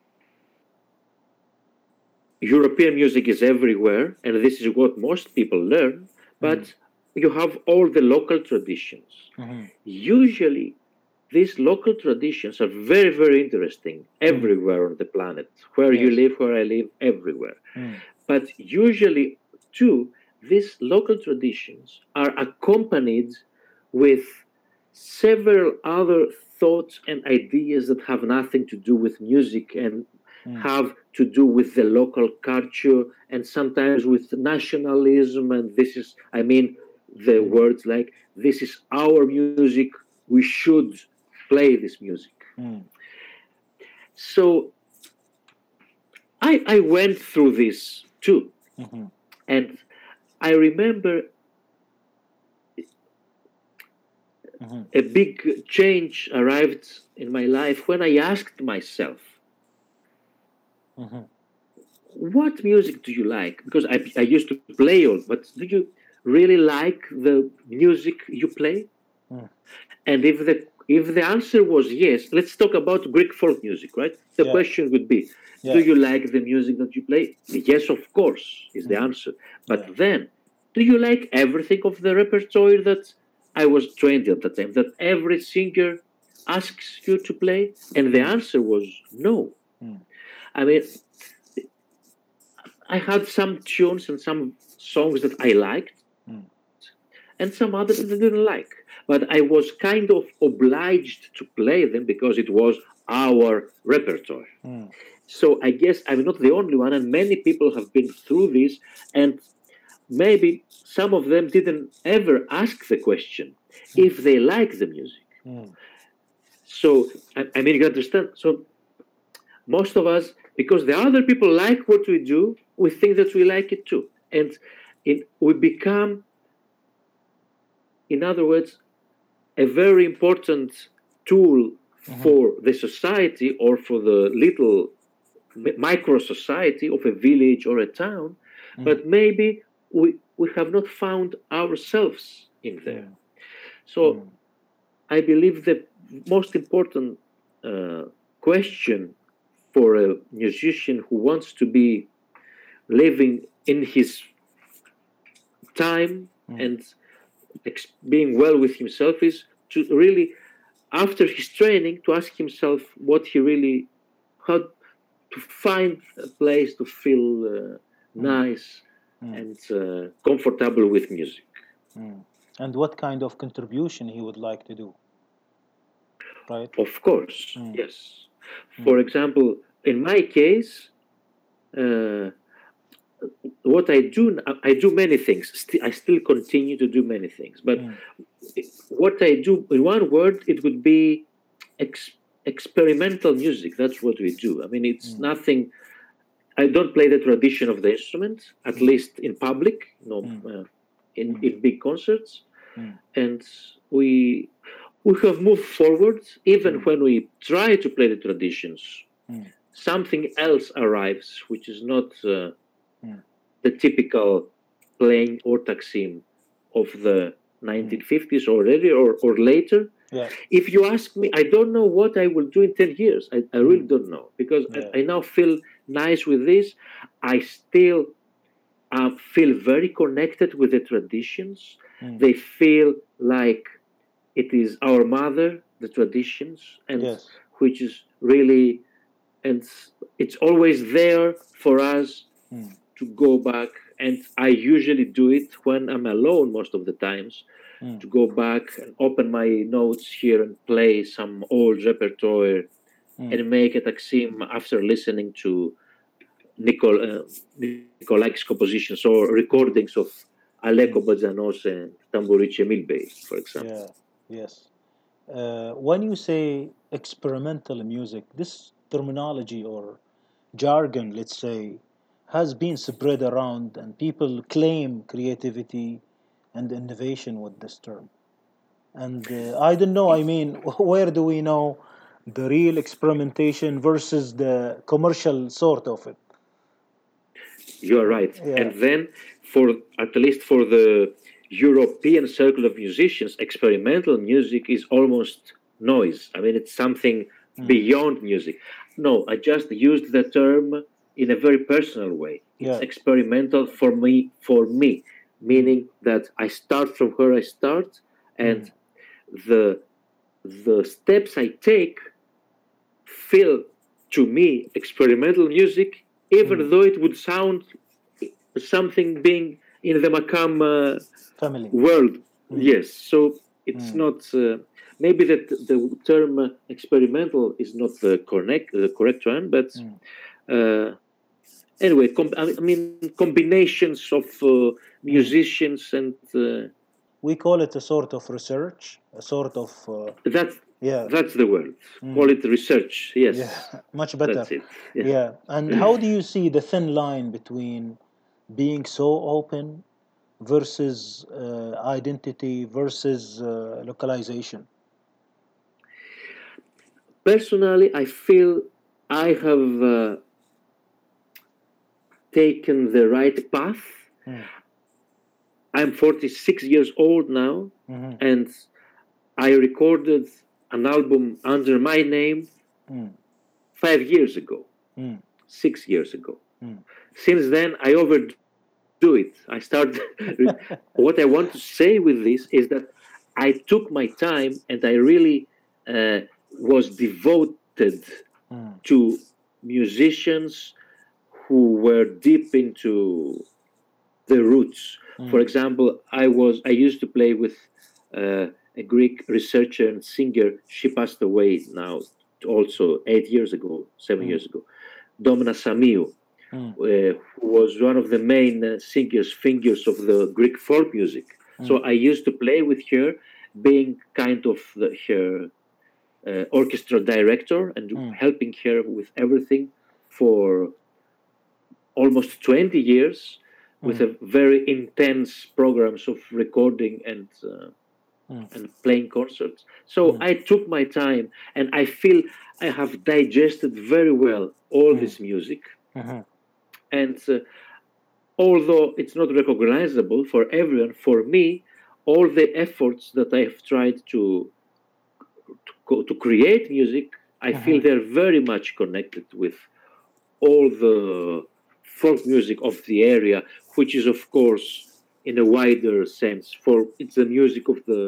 European music is everywhere, and this is what most people learn, but mm. you have all the local traditions. Mm-hmm. Usually, these local traditions are very, very interesting everywhere mm. on the planet. Where yes. you live, where I live, everywhere. Mm. But usually, too, these local traditions are accompanied with several other thoughts and ideas that have nothing to do with music and mm. have to do with the local culture and sometimes with nationalism. And this is, I mean, the mm. words like, this is our music, we should play this music. Mm. So I, I went through this too. Mm-hmm. And I remember mm-hmm. a big change arrived in my life when I asked myself, mm-hmm. what music do you like? Because I, I used to play all, but do you really like the music you play? Mm. And if the if the answer was yes, let's talk about Greek folk music, right? The yeah. question would be, yeah. do you like the music that you play? Yes, of course, is mm. the answer. But yeah. then, do you like everything of the repertoire that I was trained at the time, that every singer asks you to play? And the answer was no. Mm. I mean, I had some tunes and some songs that I liked, mm. and some others that I didn't like. But I was kind of obliged to play them because it was our repertoire. Mm. So I guess I'm not the only one, and many people have been through this, and maybe some of them didn't ever ask the question mm. if they like the music. Mm. So, I, I mean, you understand? So most of us, because the other people like what we do, we think that we like it too. And it, we become, in other words, a very important tool mm-hmm. for the society or for the little micro society of a village or a town, mm. but maybe we, we have not found ourselves in there. Mm. So mm. I believe the most important uh, question for a musician who wants to be living in his time mm. and ex- being well with himself is to really, after his training, to ask himself what he really, how to find a place to feel uh, mm. nice mm. and uh, comfortable with music. Mm. And what kind of contribution he would like to do, right? Of course, mm. yes. For mm. example, in my case, uh, what I do, I do many things. St- I still continue to do many things. But Mm. what I do, in one word, it would be ex- experimental music. That's what we do. I mean, it's Mm. nothing. I don't play the tradition of the instrument, at Mm. least in public, no, Mm. uh, in, Mm. in big concerts. Mm. And we we have moved forward, even Mm. when we try to play the traditions. Mm. Something else arrives, which is not uh, Mm. the typical playing or taksim of the nineteen fifties or earlier or, or later. Yeah. If you ask me, I don't know what I will do in ten years. I, I really Mm. don't know, because Yeah. I, I now feel nice with this. I still uh, feel very connected with the traditions. Mm. They feel like it is our mother, the traditions, and Yes. which is really, and it's always there for us Mm. to go back. And I usually do it when I'm alone most of the times, Mm. to go back and open my notes here and play some old repertoire Mm. and make a taksim after listening to Nicol, uh, Nicolai's compositions or recordings of Aleko Badzanos and Tamburice Milbey, for example. Yeah. Yes. Uh, when you say experimental music, this terminology or jargon, let's say, has been spread around, and people claim creativity and innovation with this term. And uh, I don't know, I mean, where do we know the real experimentation versus the commercial sort of it? You're right. Yeah. And then, for at least for the European circle of musicians, experimental music is almost noise. I mean, it's something Mm. beyond music. No, I just used the term in a very personal way. It's Yeah. experimental for me, for me, meaning that I start from where I start, and Mm. the the steps I take feel to me experimental music, even Mm. though it would sound something being in the Makam uh, Family. world. Mm. Yes, so it's Mm. not. Uh, maybe that the term uh, experimental is not the correct the correct one, but Mm. uh, anyway, com- I mean combinations of uh, musicians and uh, We call it a sort of research, a sort of, uh, that's yeah, that's the word. Mm. Call it research. Yes, yeah, much better. that's it. Yeah. Yeah. And how do you see the thin line between being so open versus uh, identity versus uh, localization? Personally, I feel I have uh, taken the right path. Mm. I'm forty-six years old now, Mhm. and I recorded an album under my name Mm. five years ago, Mm. six years ago. Mm. Since then, I overdo it. I started. What I want to say with this is that I took my time and I really uh, was devoted Mm. to musicians who were deep into the roots. Mm. For example, I was I used to play with uh, a Greek researcher and singer. She passed away now, also eight years ago, seven Mm. years ago. Domna Samiou, Mm. uh, who was one of the main uh, singers, fingers of the Greek folk music. Mm. So I used to play with her, being kind of the, her uh, orchestra director and Mm. helping her with everything for almost twenty years, with Mm. a very intense programs of recording and uh, Mm. and playing concerts. So Mm. I took my time, and I feel I have digested very well all Mm. this music. Mhm. And uh, although it's not recognizable for everyone, for me, all the efforts that I have tried to to, co- to create music, I feel Mhm. they're very much connected with all the folk music of the area, which is, of course, in a wider sense, for it's the music of the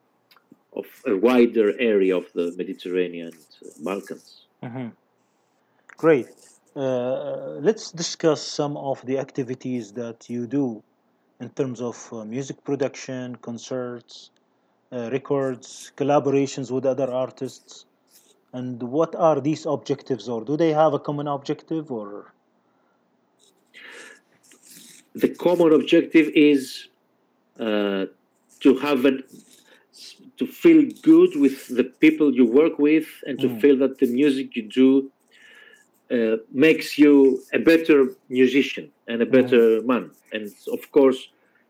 of a wider area of the Mediterranean and uh, Balkans. Mhm. Great. Uh, let's discuss some of the activities that you do in terms of uh, music production, concerts, uh, records, collaborations with other artists, and what are these objectives, or do they have a common objective, or? the common objective is uh, to have an, to feel good with the people you work with, and to Mm. feel that the music you do uh, makes you a better musician and a better man. And of course,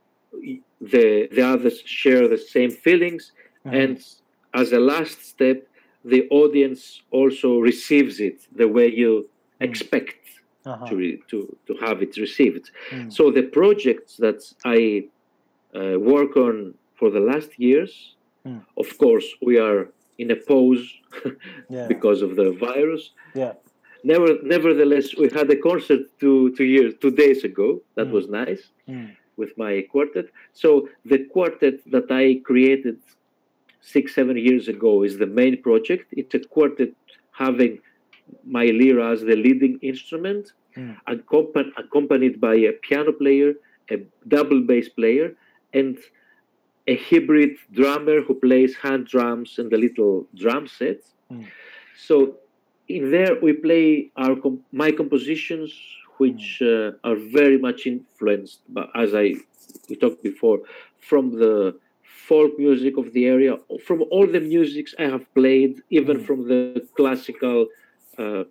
the the others share the same feelings. Mhm. And as a last step, the audience also receives it the way you expect Uh-huh. to, re, to to have it received. Mm. So the projects that I uh, work on for the last years, Mm. of course, we are in a pause Yeah. because of the virus. Yeah. Never, nevertheless, we had a concert two two years, two days ago. That Mm. was nice Mm. with my quartet. So the quartet that I created six, seven years ago is the main project. It's a quartet having my lira as the leading instrument, Mm. accompan- accompanied by a piano player, a double bass player, and a hybrid drummer who plays hand drums and the little drum set. Mm. So in there we play our com- my compositions, which uh, are very much influenced, but as I we talked before, from the folk music of the area, from all the musics I have played, even Mm. from the classical uh,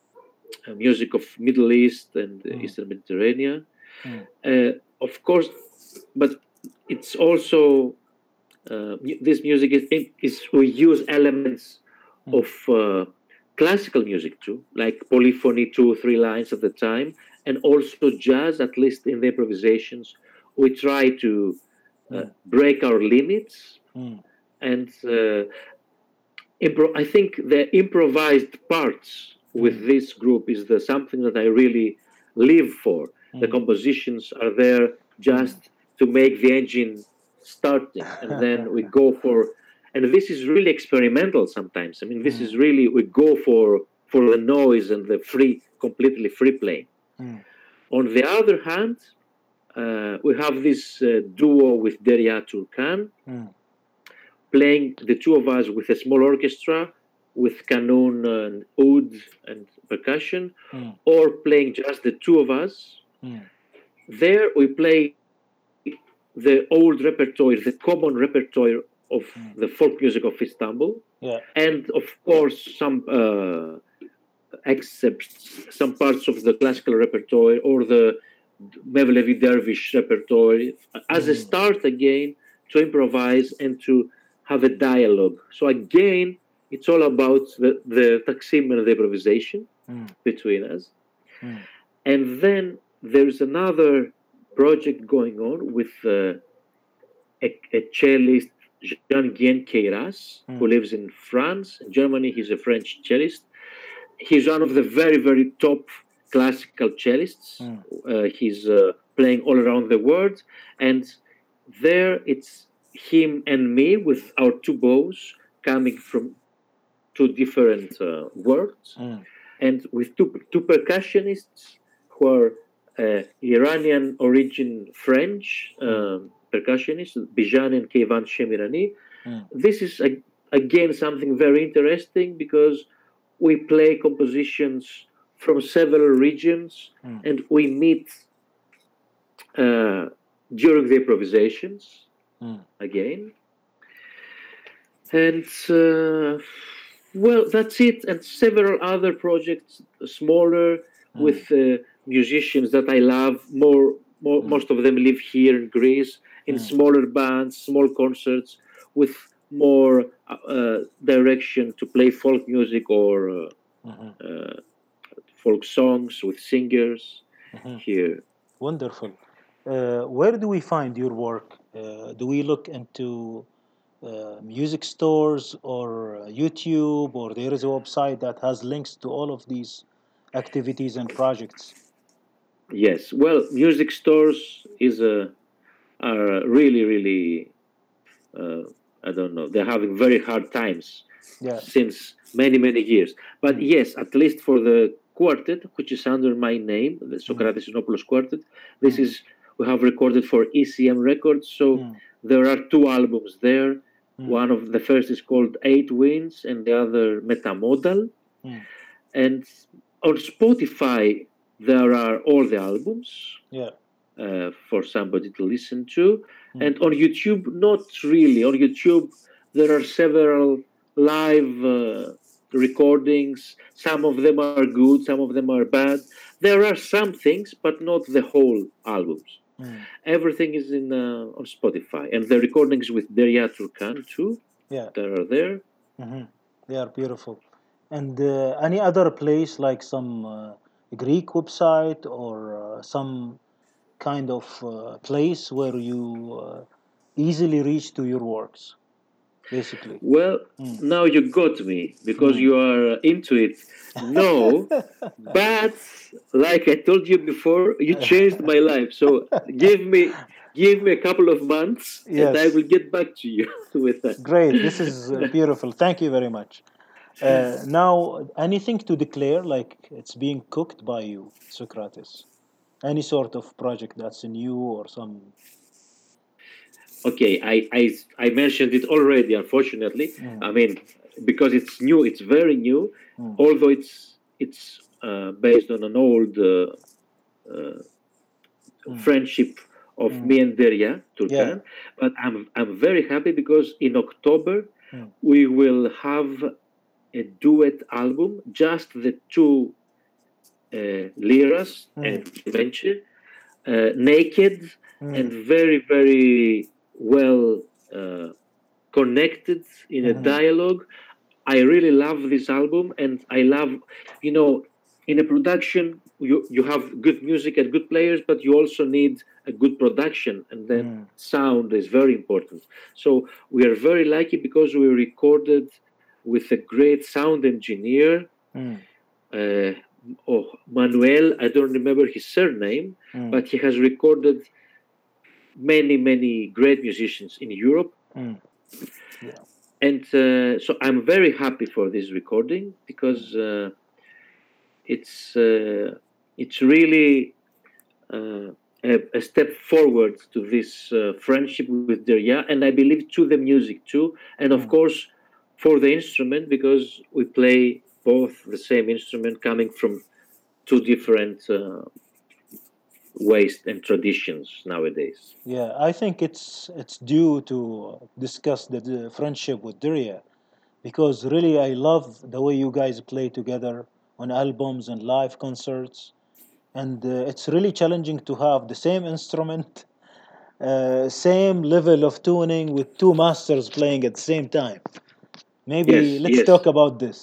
music of Middle East and Mm. Eastern Mediterranean. Mm. Uh, of course, but it's also uh, mu- this music is, is we use elements Mm. of uh, classical music too, like polyphony, two or three lines at the time, and also jazz. At least in the improvisations, we try to uh, Mm. break our limits. Mm. And uh, impro- I think the improvised parts with Mm. this group is the something that I really live for. The Mm. compositions are there just to make the engine starting, and then we go for, and this is really experimental sometimes. I mean, this is really, we go for for the noise and the free, completely free playing. Mm. On the other hand, uh, we have this uh, duo with Derya Turkan, Mm. playing the two of us with a small orchestra with kanun and oud and percussion, Mm. or playing just the two of us. Mm. There we play the old repertoire, the common repertoire of Mm. the folk music of Istanbul, Yeah. and of course some uh, excerpts, some parts of the classical repertoire or the Mevlevi Dervish repertoire as a Mm. start again to improvise and to have a dialogue. So again, it's all about the, the taksim and the improvisation Mm. between us. Mm. And then there's another project going on with uh, a, a cellist, Jean-Guyen Queiras, who Mm. lives in France. In Germany, he's a French cellist. He's one of the very, very top classical cellists. Mm. Uh, he's uh, playing all around the world. And there it's him and me with our two bows coming from two different uh, worlds. Mm. And with two, two percussionists who are uh, Iranian origin French um, percussionists, Bijan and Keyvan Shemirani. Mm. This is a, again something very interesting because we play compositions from several regions, Mm. and we meet uh, during the improvisations Mm. again. And uh, well, that's it. And several other projects, smaller, Mm. with uh, musicians that I love. More, more, Mm. most of them live here in Greece, in Mm. smaller bands, small concerts, with more uh, direction to play folk music or uh, Mhm. uh, folk songs with singers Mhm. here. Wonderful. Uh, where do we find your work? Uh, do we look into uh, music stores or uh, YouTube, or there is a website that has links to all of these activities and projects? Yes, well, music stores is a are really, really, uh, I don't know, they're having very hard times Yeah. since many, many years. But Mm. yes, at least for the quartet, which is under my name, the Socrates Sinopoulos Quartet, this Mm. is, we have recorded for E C M Records. So Mm. there are two albums there. Mm. One of the first is called Eight Winds, and the other Metamodal. Mm. And on Spotify, there are all the albums. Yeah. uh, for somebody to listen to. Mm. And on YouTube, not really. On YouTube, there are several live uh, recordings. Some of them are good, some of them are bad. There are some things, but not the whole albums. Mm. Everything is in uh, on Spotify, and the recordings with Derya Turkan too. Yeah, that are there. Mm-hmm. They are beautiful. And uh, any other place, like some uh, Greek website or uh, some kind of uh, place where you uh, easily reach to your works, basically? Well, mm. now you got me because mm. you are into it. No, but like I told you before, you changed my life. So give me give me a couple of months, yes. and I will get back to you with that. Great. This is uh, beautiful. Thank you very much. Uh, now, anything to declare, like it's being cooked by you, Socrates? Any sort of project that's new or some? Okay, I I, I mentioned it already, unfortunately. Mm. I mean, because it's new, it's very new, mm. although it's it's uh, based on an old uh, uh, mm. friendship of mm. me and Derya Turkan. Yeah. But I'm I'm very happy because in October mm. we will have a duet album, just the two uh, liras mm. and Venture, uh, naked mm. and very, very well uh, connected in mm-hmm. a dialogue. I really love this album, and I love, you know, in a production, you, you have good music and good players, but you also need a good production, and then mm. sound is very important. So we are very lucky because we recorded with a great sound engineer, mm. uh, oh, Manuel, I don't remember his surname, mm. but he has recorded many, many great musicians in Europe. Mm. Yeah. And uh, so I'm very happy for this recording because uh, it's uh, it's really uh, a, a step forward to this uh, friendship with Derya, and I believe to the music too, and of mm. course for the instrument, because we play both the same instrument coming from two different uh, ways and traditions nowadays. Yeah, I think it's it's due to discuss the, the friendship with Derya, because really I love the way you guys play together on albums and live concerts, and uh, it's really challenging to have the same instrument, uh, same level of tuning with two masters playing at the same time. Maybe yes, let's yes. talk about this.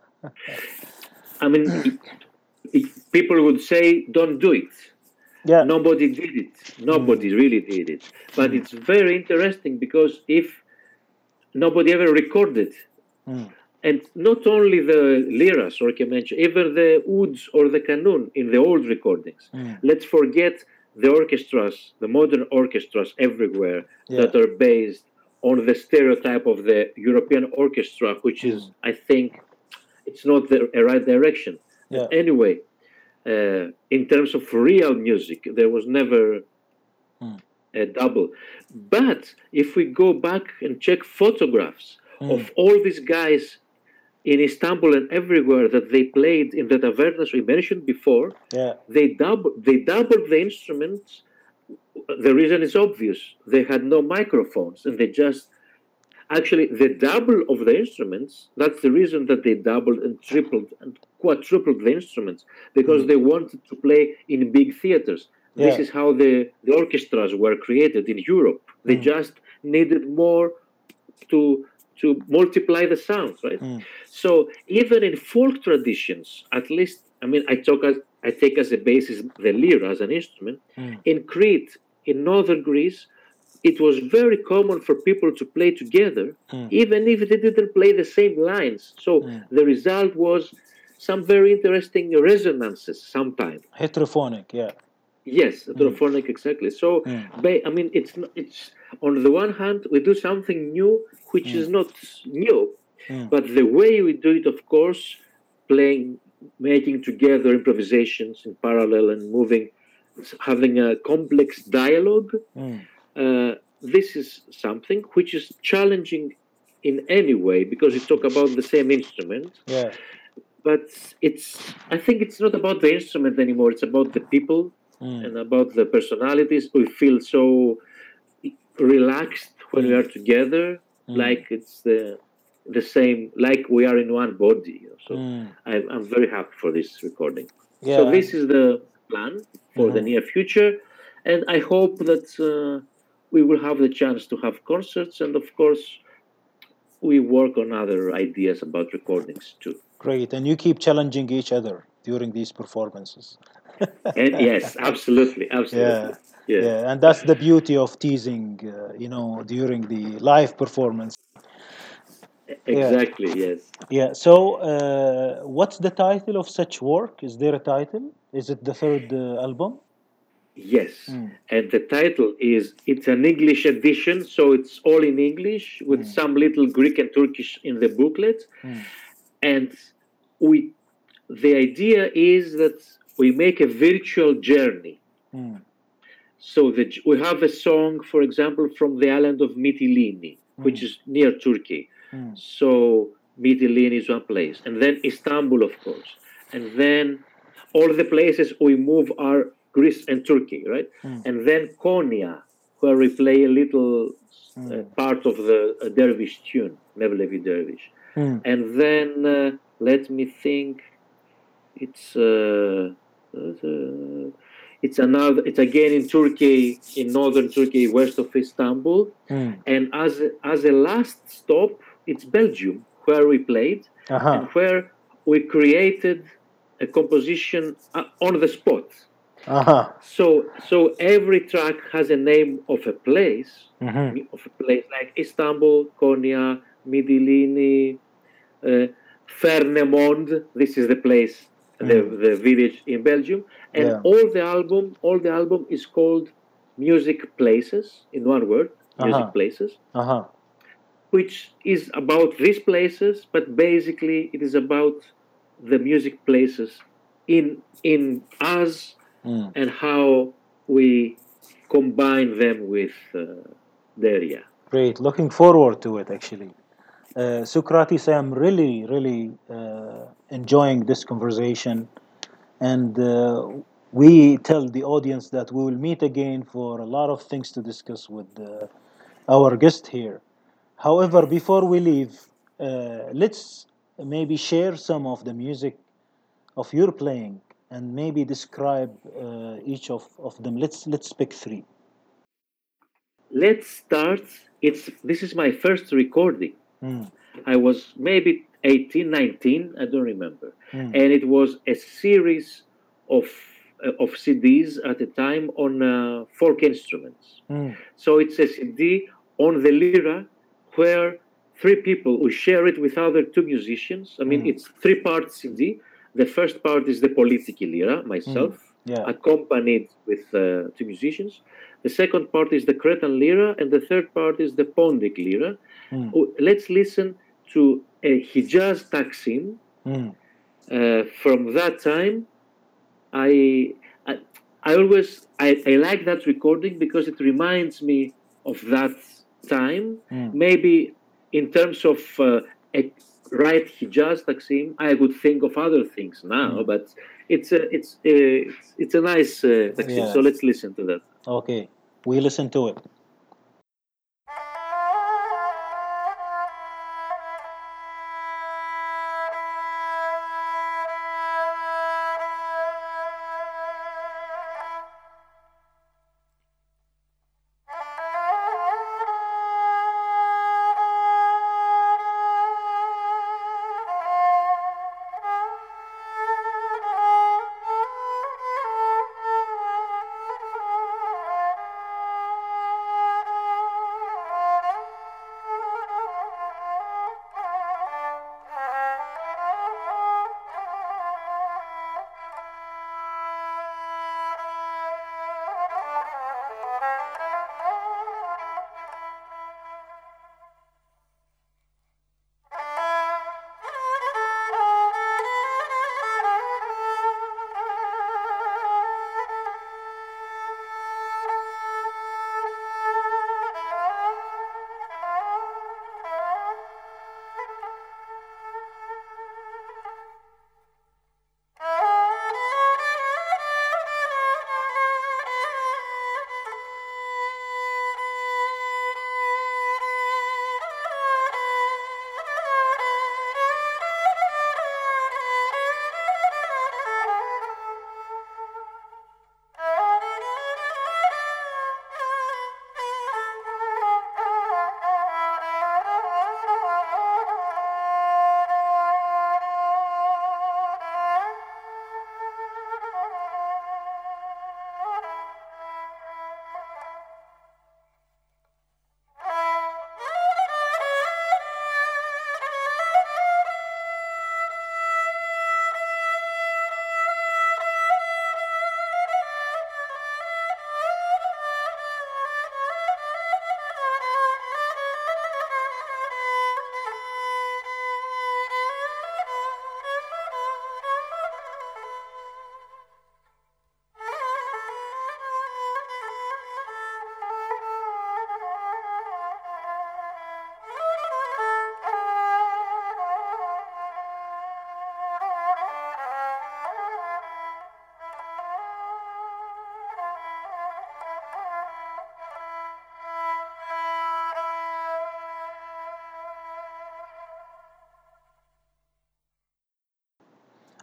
I mean, it, it, people would say, don't do it. Yeah. Nobody did it. Nobody mm. really did it. But mm. it's very interesting because if nobody ever recorded, mm. and not only the liras or kemençe, even the ouds or the kanun in the old recordings. Mm. Let's forget the orchestras, the modern orchestras everywhere yeah. that are based on the stereotype of the European orchestra, which mm. is, I think, it's not the right direction. Yeah. But anyway, uh, in terms of real music, there was never mm. a double. But if we go back and check photographs mm. of all these guys in Istanbul and everywhere that they played in the tavernas we mentioned before, yeah. they doubled they doubled the instruments. The reason is obvious. They had no microphones, and they just actually the double of the instruments. That's the reason that they doubled and tripled and quadrupled the instruments, because mm. they wanted to play in big theaters. Yeah. This is how the, the orchestras were created in Europe. They mm. just needed more to to multiply the sounds, right? Mm. So even in folk traditions, at least, I mean, I talk as I take as a basis the lyra as an instrument. Mm. In Crete, in northern Greece, it was very common for people to play together, mm. even if they didn't play the same lines. So mm. the result was some very interesting resonances sometimes. Heterophonic, yeah. Yes, heterophonic, mm. exactly. So, mm. I mean, it's it's on the one hand, we do something new, which mm. is not new, mm. but the way we do it, of course, playing, making together improvisations in parallel and moving, having a complex dialogue, mm. uh, this is something which is challenging in any way, because you talk about the same instrument. Yeah. But it's, I think it's not about the instrument anymore, it's about the people. Mm. and about the personalities. We feel so relaxed when we Mm. are together, Mm. like it's the the same, like we are in one body. So Mm. I'm, I'm very happy for this recording. So Yeah. this is the plan for the Mhm. near future, and I hope that uh, we will have the chance to have concerts, and of course we work on other ideas about recordings too. Great. And you keep challenging each other during these performances. And yes, absolutely, absolutely. Yeah. Yeah, Yeah. And that's the beauty of teasing, uh, you know, during the live performance. Yeah. exactly. Yes. Yeah. So, uh, what's the title of such work? Is there a title? Is it the third uh, album? Yes. Mm. And the title is, it's an English edition, so it's all in English with Mm. some little Greek and Turkish in the booklet. Mm. And we, the idea is that we make a virtual journey. Mm. So that we have a song, for example, from the island of Mytilene, which Mm. is near Turkey. Mm. So Mytilene is one place, and then Istanbul, of course, and then all the places we move are Greece and Turkey, right? Mm. And then Konya, where we play a little uh, Mm. part of the uh, dervish tune, Mevlevi Dervish. Mm. And then uh, let me think, it's uh, uh, it's another, it's again in Turkey, in northern Turkey, west of Istanbul. Mm. And as as a last stop, it's Belgium, where we played, Uh-huh. and where we created a composition uh, on the spot. Uh-huh. So so every track has a name of a place, Mm-hmm. of a place like Istanbul, Konya, Mytilene, uh, Fernemond. This is the place, the, Mm. the village in Belgium, and Yeah. all the album, all the album is called Music Places, in one word, Music Uh-huh. Places, Uh-huh. which is about these places, but basically it is about the music places in in us Mm. and how we combine them with uh, the area. Great. Looking forward to it, actually. Uh, Socrates, I am really, really uh, enjoying this conversation. And uh, we tell the audience that we will meet again for a lot of things to discuss with uh, our guest here. However, before we leave, uh, let's maybe share some of the music of your playing and maybe describe uh, each of, of them. Let's let's pick three. Let's start. It's this is my first recording. Mm. I was maybe eighteen, nineteen, I don't remember. Mm. And it was a series of uh, of C Ds at the time on uh, folk instruments. Mm. So it's a C D on the lira where three people who share it with other two musicians. I mean, Mm. it's three part C D. The first part is the politiki lira, myself, Mm. Yeah. accompanied with uh, two musicians. The second part is the Cretan lira, and the third part is the Pondic lira. Mm. Oh, let's listen to a Hijaz Taksim. Mm. Uh, from that time, I, I, I always I, I like that recording because it reminds me of that time. Mm. Maybe in terms of uh, a right Hijaz Taksim, I would think of other things now, Mm. but it's a it's a, it's, it's a nice uh, Taksim. Yeah. So let's listen to that. Okay. We listen to it. Thank you.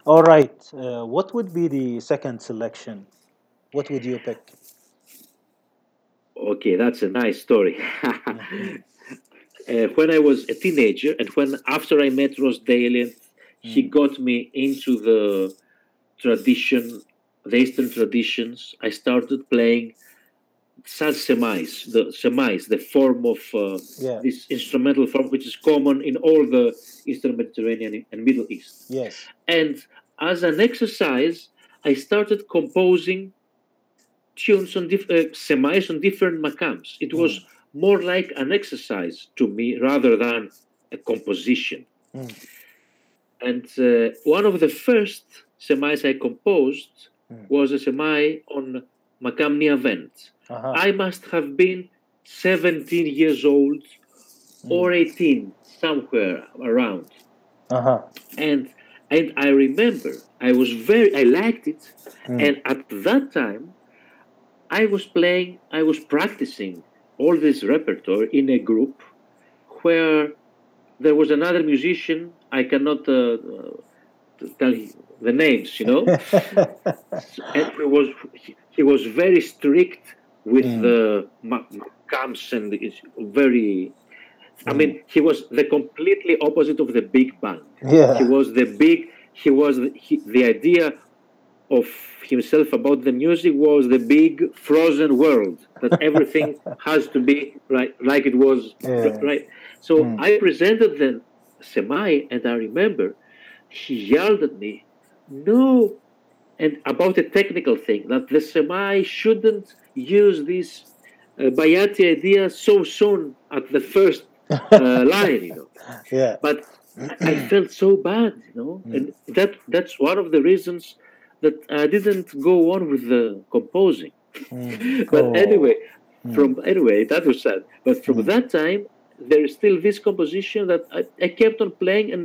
All right. Uh, what would be the second selection? What would you pick? Okay, that's a nice story. Uh, when I was a teenager, and when after I met Ross Daly, he Mm. got me into the tradition, the Eastern traditions. I started playing saz semais, the semais, the form of uh, Yeah. this instrumental form, which is common in all the Eastern Mediterranean and Middle East. Yes. And as an exercise, I started composing tunes on diff- uh, semais on different makams. It was Mm. more like an exercise to me rather than a composition. Mm. And uh, one of the first semais I composed Mm. was a semai on makam Niavent. Uh-huh. I must have been seventeen years old or eighteen, somewhere around. Uh-huh. And and I remember I was very I liked it. Mm. And at that time I was playing, I was practicing all this repertoire in a group where there was another musician. I cannot uh, uh, tell you the names, you know. And he was he, he was very strict with Mm. the makams and it's very. I Mm. mean, he was the completely opposite of the big band. Yeah. He was the big. He was the, he, the idea of himself about the music was the big frozen world that everything has to be right, like it was Yeah. right. So Mm. I presented the semai, and I remember he yelled at me, "No!" and about a technical thing that the semai shouldn't use this uh, Bayati idea so soon at the first uh, line, you know. Yeah. But I felt so bad, you know, Mm. and that that's one of the reasons that I didn't go on with the composing. Mm. But Oh. anyway, Mm. from anyway, that was sad. But from Mm. that time, there is still this composition that I, I kept on playing, and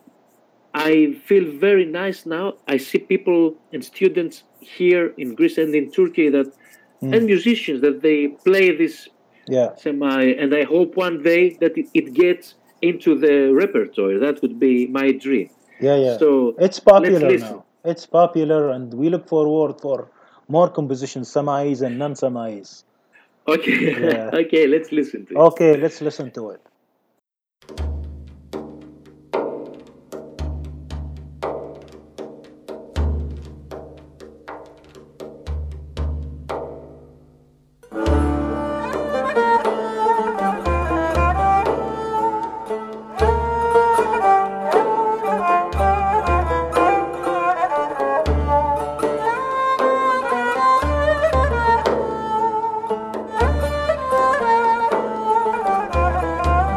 I feel very nice now. I see people and students here in Greece and in Turkey that, Mm. and musicians that they play this Yeah. semi, and I hope one day that it, it gets into the repertoire. That would be my dream. Yeah, yeah. So It's popular let's listen. now. It's popular, and we look forward for more compositions, samais and non-samais. Okay, Yeah. okay, let's listen to it. Okay, let's listen to it. Thank you.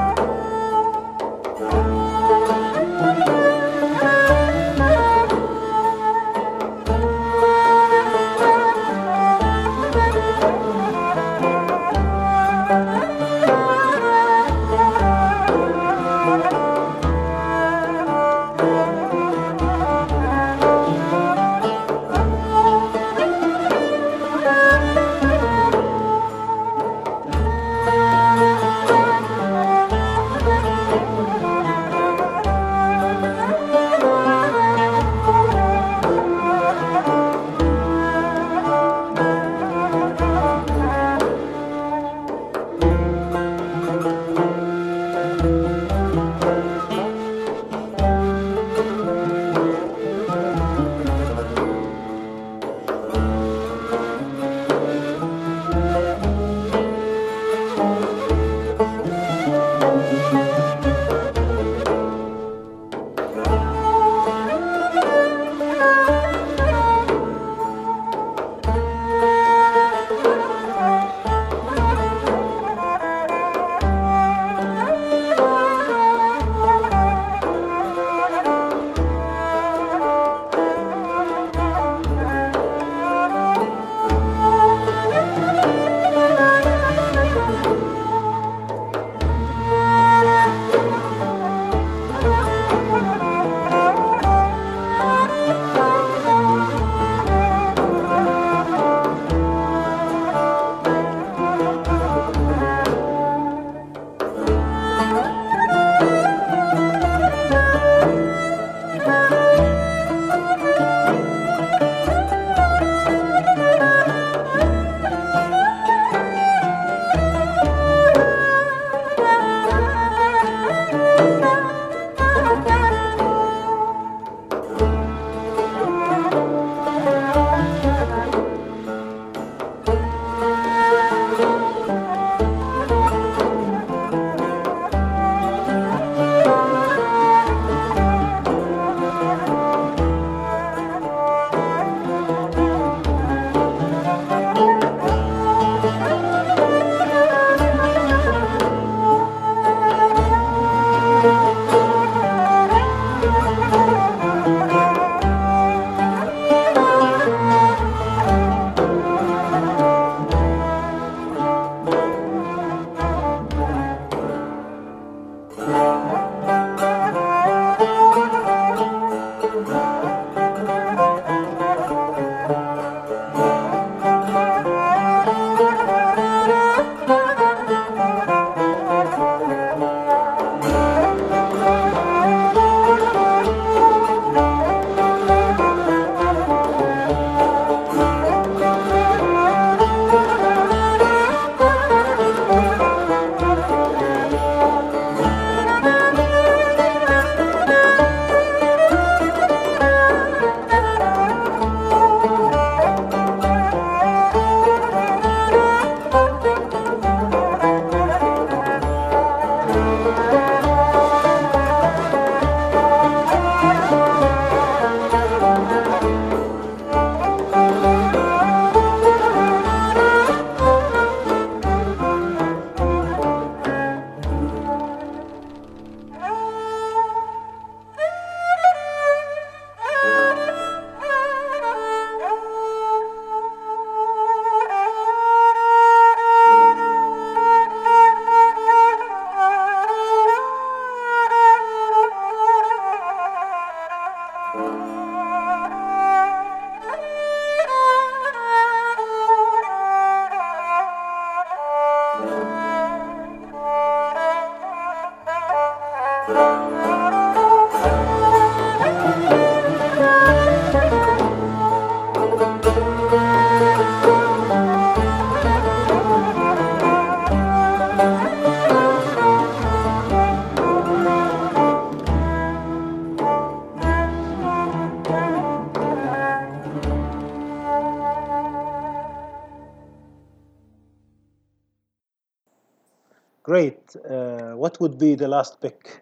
Great. Uh, what would be the last pick?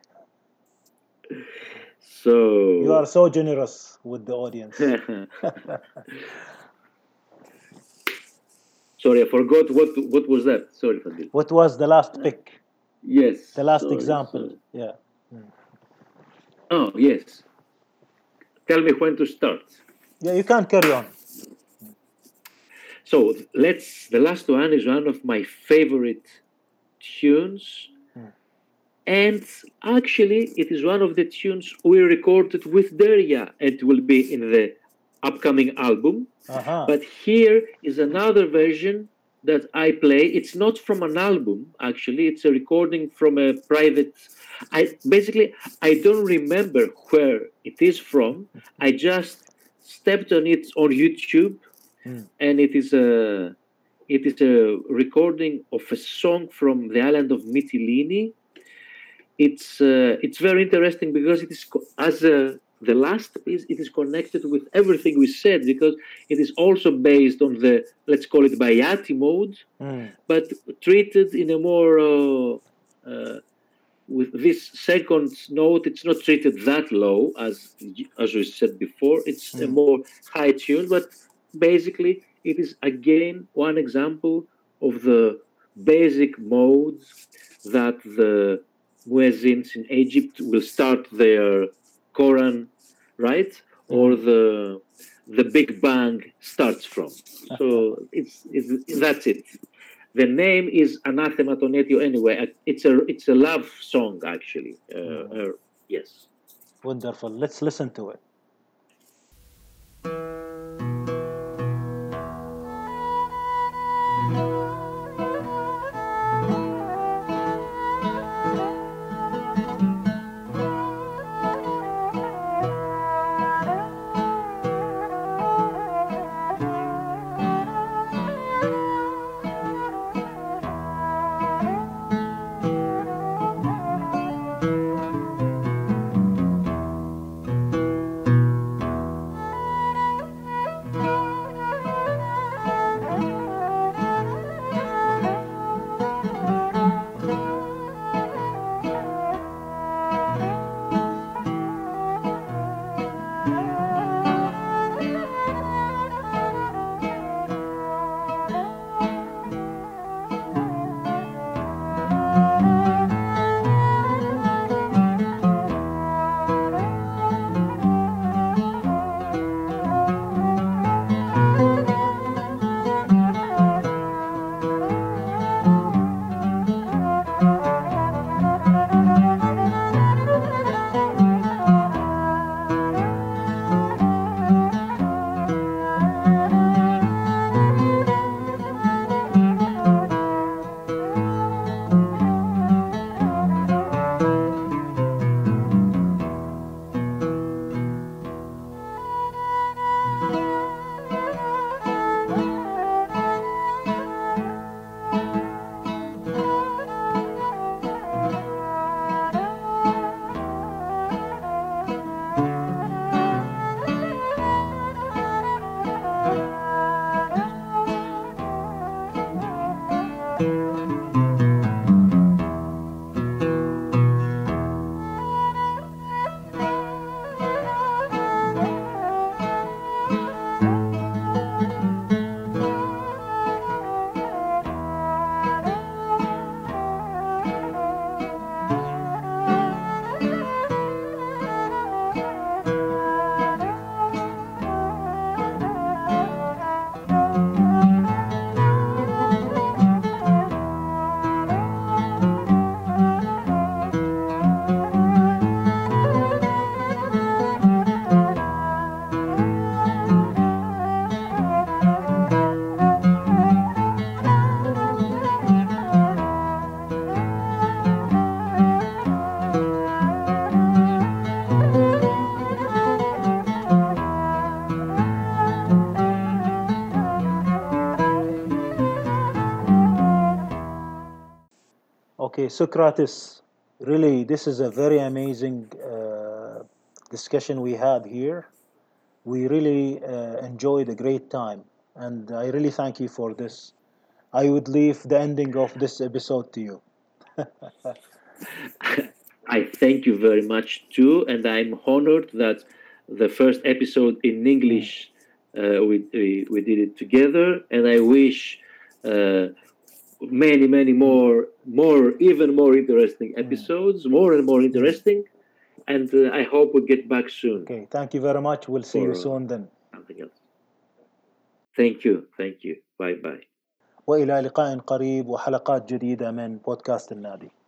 So You are so generous with the audience. Sorry, I forgot what what was that. Sorry, Fadil. What was the last pick? Yes. The last sorry, example. sorry. Yeah. Oh, yes. Tell me when to start. Yeah, you can carry on. So let's. The last one is one of my favorite tunes, Hmm. and actually, it is one of the tunes we recorded with Derya. It will be in the upcoming album. Uh-huh. But here is another version that I play. It's not from an album, actually. It's a recording from a private. I basically I don't remember where it is from. I just stepped on it on YouTube, Hmm. and it is a it is a recording of a song from the island of Mytilene. It's uh, it's very interesting because it is co- as a the last piece, it is connected with everything we said because it is also based on the, let's call it Bayati mode, Hmm. but treated in a more, uh, uh, with this second note, it's not treated that low as as we said before. It's a Hmm. more high tune, but basically it is again one example of the basic modes that the muezzins in Egypt will start their Quran, right? Or the the Big Bang starts from. So it's, it's that's it. The name is Anathema Tonetio anyway. It's a it's a love song actually. Uh, uh, yes. Wonderful. Let's listen to it. Okay, Socrates, really, this is a very amazing uh, discussion we had here. We really uh, enjoyed a great time, and I really thank you for this. I would leave the ending of this episode to you. I thank you very much too, and I'm honored that the first episode in English uh, we, we we did it together, and I wish uh, many many more more even more interesting episodes, more and more interesting, and uh, I hope we get back soon. Okay, thank you very much. We'll see for, you soon then. Something else. Thank you, thank you. Bye bye. وإلى لقاء قريب وحلقات جديدة من بودكاست النادي.